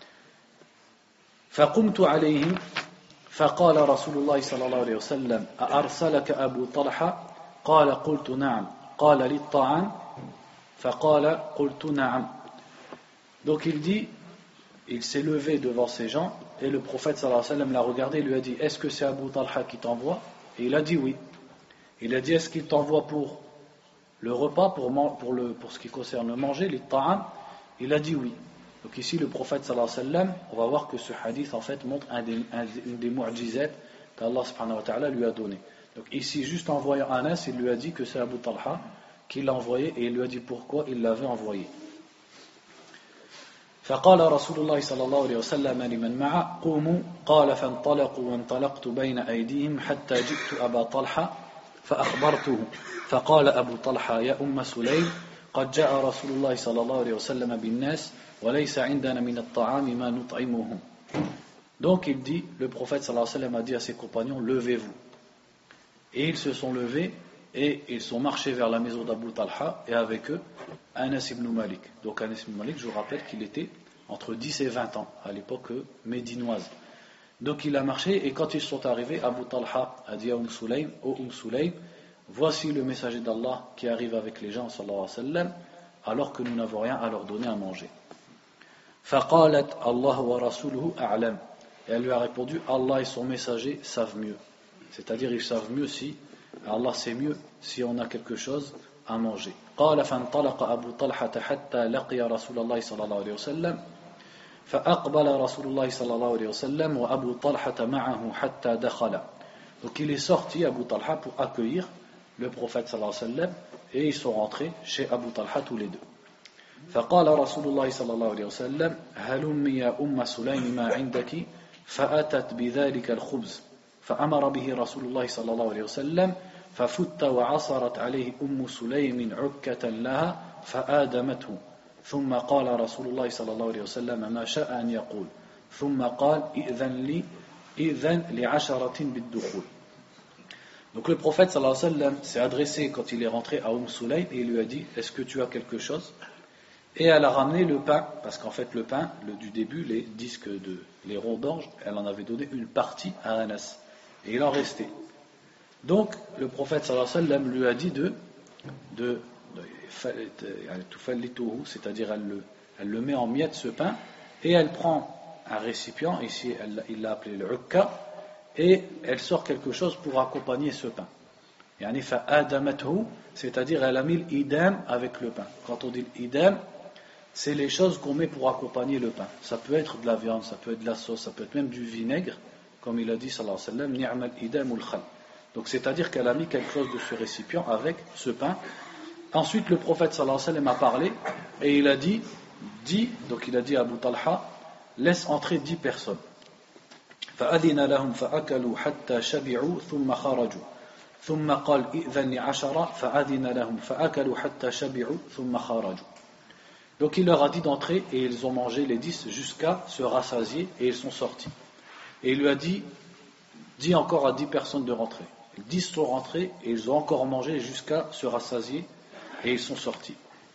فقمت عليه فقال رسول الله صلى الله عليه وسلم أأرسلك أبو طلحة قال قلت نعم قال للطعام فقال قلت نعم. Donc il dit, il s'est levé devant ces gens et le prophète sallallahu alayhi wa sallam l'a regardé et lui a dit est-ce que c'est Abu Talha qui t'envoie? Et il a dit oui. Il a dit est-ce qu'il t'envoie pour le repas, pour, pour, le, pour ce qui concerne le manger, les ta'am? Il a dit oui. Donc ici le prophète sallallahu alayhi wa sallam, on va voir que ce hadith en fait montre un des, un, une des mu'jizat qu'Allah subhanahu wa ta'ala lui a donné. Donc ici juste en voyant Anas, il lui a dit que c'est Abu Talha qui l'a envoyé et il lui a dit pourquoi il l'avait envoyé. فقال رسول الله صلى الله عليه وسلم لمن معه قوموا قال فانطلقوا وانطلقت بين أيديهم حتى جئت أبا طلحة فأخبرته فقال أبو طلحة يا أم سليم قد جاء رسول الله صلى الله عليه وسلم بالناس وليس عندنا من الطعام ما نطعمهم. Donc il dit, le prophète sallallahu alayhi wa sallam a dit à ses compagnons levez-vous. Et ils se sont levés et ils sont marchés vers la maison d'Abu Talha et avec eux Anas ibn Malik. Donc Anas ibn Malik, je vous rappelle qu'il était entre dix et vingt ans à l'époque médinoise. Donc il a marché et quand ils sont arrivés, Abu Talha a dit à Umm Sulaym, ô Umm Sulaym, voici le messager d'Allah qui arrive avec les gens sallallahu alayhi wa sallam alors que nous n'avons rien à leur donner à manger. فقالت الله ورسوله أعلم. Et elle lui a répondu Allah et son messager savent mieux. C'est-à-dire ils savent mieux si Allah sait mieux si on a quelque chose à manger. قال فانطلق أبو طلحة حتى لقي رسول الله صلى الله عليه وسلم فأقبل رسول الله صلى الله عليه وسلم وأبو طلحة معه حتى دخل. Donc il est sorti Abu Talha pour accueillir le prophète sallallahu alayhi wa sallam et ils sont rentrés chez Abu Talha tous les deux. فقال رسول الله صلى الله عليه وسلم هلم يا أم سليم ما عندك فأتت بذلك الخبز فأمر به رسول الله صلى الله عليه وسلم ففت وعصرت عليه أم سليم عكة لها فآدمته ثم قال رسول الله صلى الله عليه وسلم ما شاء أن يقول ثم قال إذن لي إذن لعشرة بالدخول. Donc le prophète sallallahu alayhi wa sallam s'est adressé quand il est rentré à Umm Sulaym et il lui a dit est-ce que tu as quelque chose? Et elle a ramené le pain, parce qu'en fait le pain, le, du début, les disques de les ronds d'orge, elle en avait donné une partie à Anas. Et il en restait. Donc le prophète sallallahu alayhi wa sallam lui a dit de, de, de c'est-à-dire elle le, elle le met en miettes ce pain, et elle prend un récipient, ici elle, il l'a appelé le ukka, et elle sort quelque chose pour accompagner ce pain. Yani fa'adamathu, c'est-à-dire elle a mis l'idam avec le pain. Quand on dit l'idam, c'est les choses qu'on met pour accompagner le pain. Ça peut être de la viande, ça peut être de la sauce, ça peut être même du vinaigre, comme il a dit sallallahu alayhi wa sallam, ni'mal idamul khal. Donc c'est-à-dire qu'elle a mis quelque chose de ce récipient avec ce pain. Ensuite le prophète sallallahu alayhi wa sallam a parlé et il a dit, dit, donc il a dit à Abu Talha, laisse entrer dix personnes. فأذن لهم فأكلوا حتى شبعوا ثم خرجوا ثم قال إذن لعشرة فأذن لهم فأكلوا حتى شبعوا ثم خرجوا. Donc il leur a dit d'entrer et ils ont mangé les dix jusqu'à se rassasier et ils sont sortis. Et il lui a dit, dis encore à dix personnes de rentrer. Dix sont rentrés et ils ont encore mangé jusqu'à se rassasier et ils sont sortis.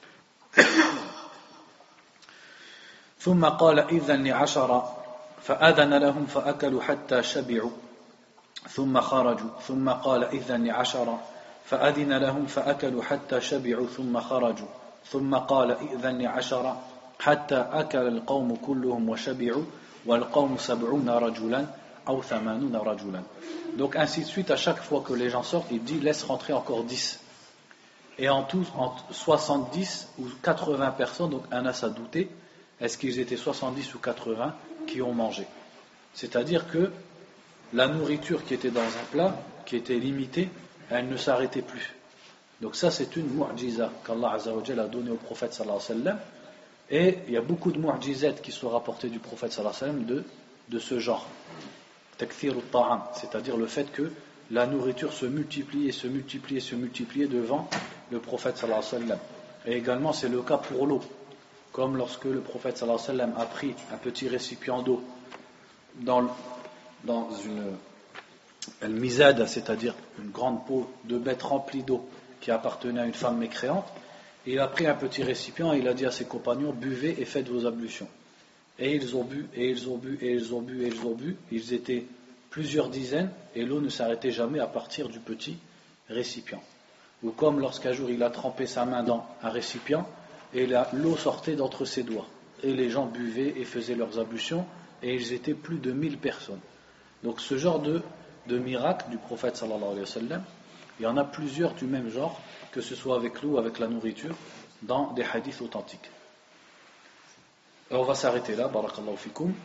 ثم قال إذن لعشرة فأذن لهم فأكلوا حتى شبعوا ثم خرجوا ثم قال إذن لعشرة فأذن لهم فأكلوا حتى شبعوا ثم خرجوا ثم قال إذن لعشرة حتى أكل القوم كلهم وشبعوا والقوم سبعون رجلا أو ثمانون رجلا. Donc ainsi de suite, à chaque fois que les gens sortent, il dit laisse rentrer encore dix. Et en tout, en soixante-dix ou quatre-vingts personnes, donc Anas a douté, est-ce qu'ils étaient soixante-dix ou quatre-vingts qui ont mangé? C'est-à-dire que la nourriture qui était dans un plat, qui était limitée, elle ne s'arrêtait plus. Donc ça c'est une mu'jiza qu'Allah Azza wa Jalla a donnée au prophète sallallahu alayhi wa sallam. Et il y a beaucoup de mu'jizat qui sont rapportées du prophète sallallahu alayhi wa sallam de, de ce genre. Takthir al-ta'am, c'est-à-dire le fait que la nourriture se multiplie et se multiplie et se multiplie devant le prophète sallallahu alayhi wa sallam. Et également c'est le cas pour l'eau. Comme lorsque le prophète sallallahu alayhi wa sallam a pris un petit récipient d'eau dans, dans une al-mizad, c'est-à-dire une grande peau de bête remplie d'eau qui appartenait à une femme mécréante, et il a pris un petit récipient et il a dit à ses compagnons, buvez et faites vos ablutions. Et ils ont bu, et ils ont bu, et ils ont bu, et ils ont bu, ils étaient plusieurs dizaines, et l'eau ne s'arrêtait jamais à partir du petit récipient. Ou comme lorsqu'un jour il a trempé sa main dans un récipient, et la, l'eau sortait d'entre ses doigts. Et les gens buvaient et faisaient leurs ablutions, et ils étaient plus de mille personnes. Donc ce genre de, de miracle du prophète sallallahu alayhi wa sallam, il y en a plusieurs du même genre, que ce soit avec l'eau ou avec la nourriture, dans des hadiths authentiques. Et on va s'arrêter là, barakallahu fikum.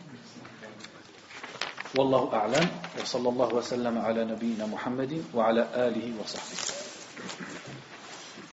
Wallahu a'lam, wa sallallahu wa sallam ala nabiyyina Muhammadin wa ala alihi wa sahbihi.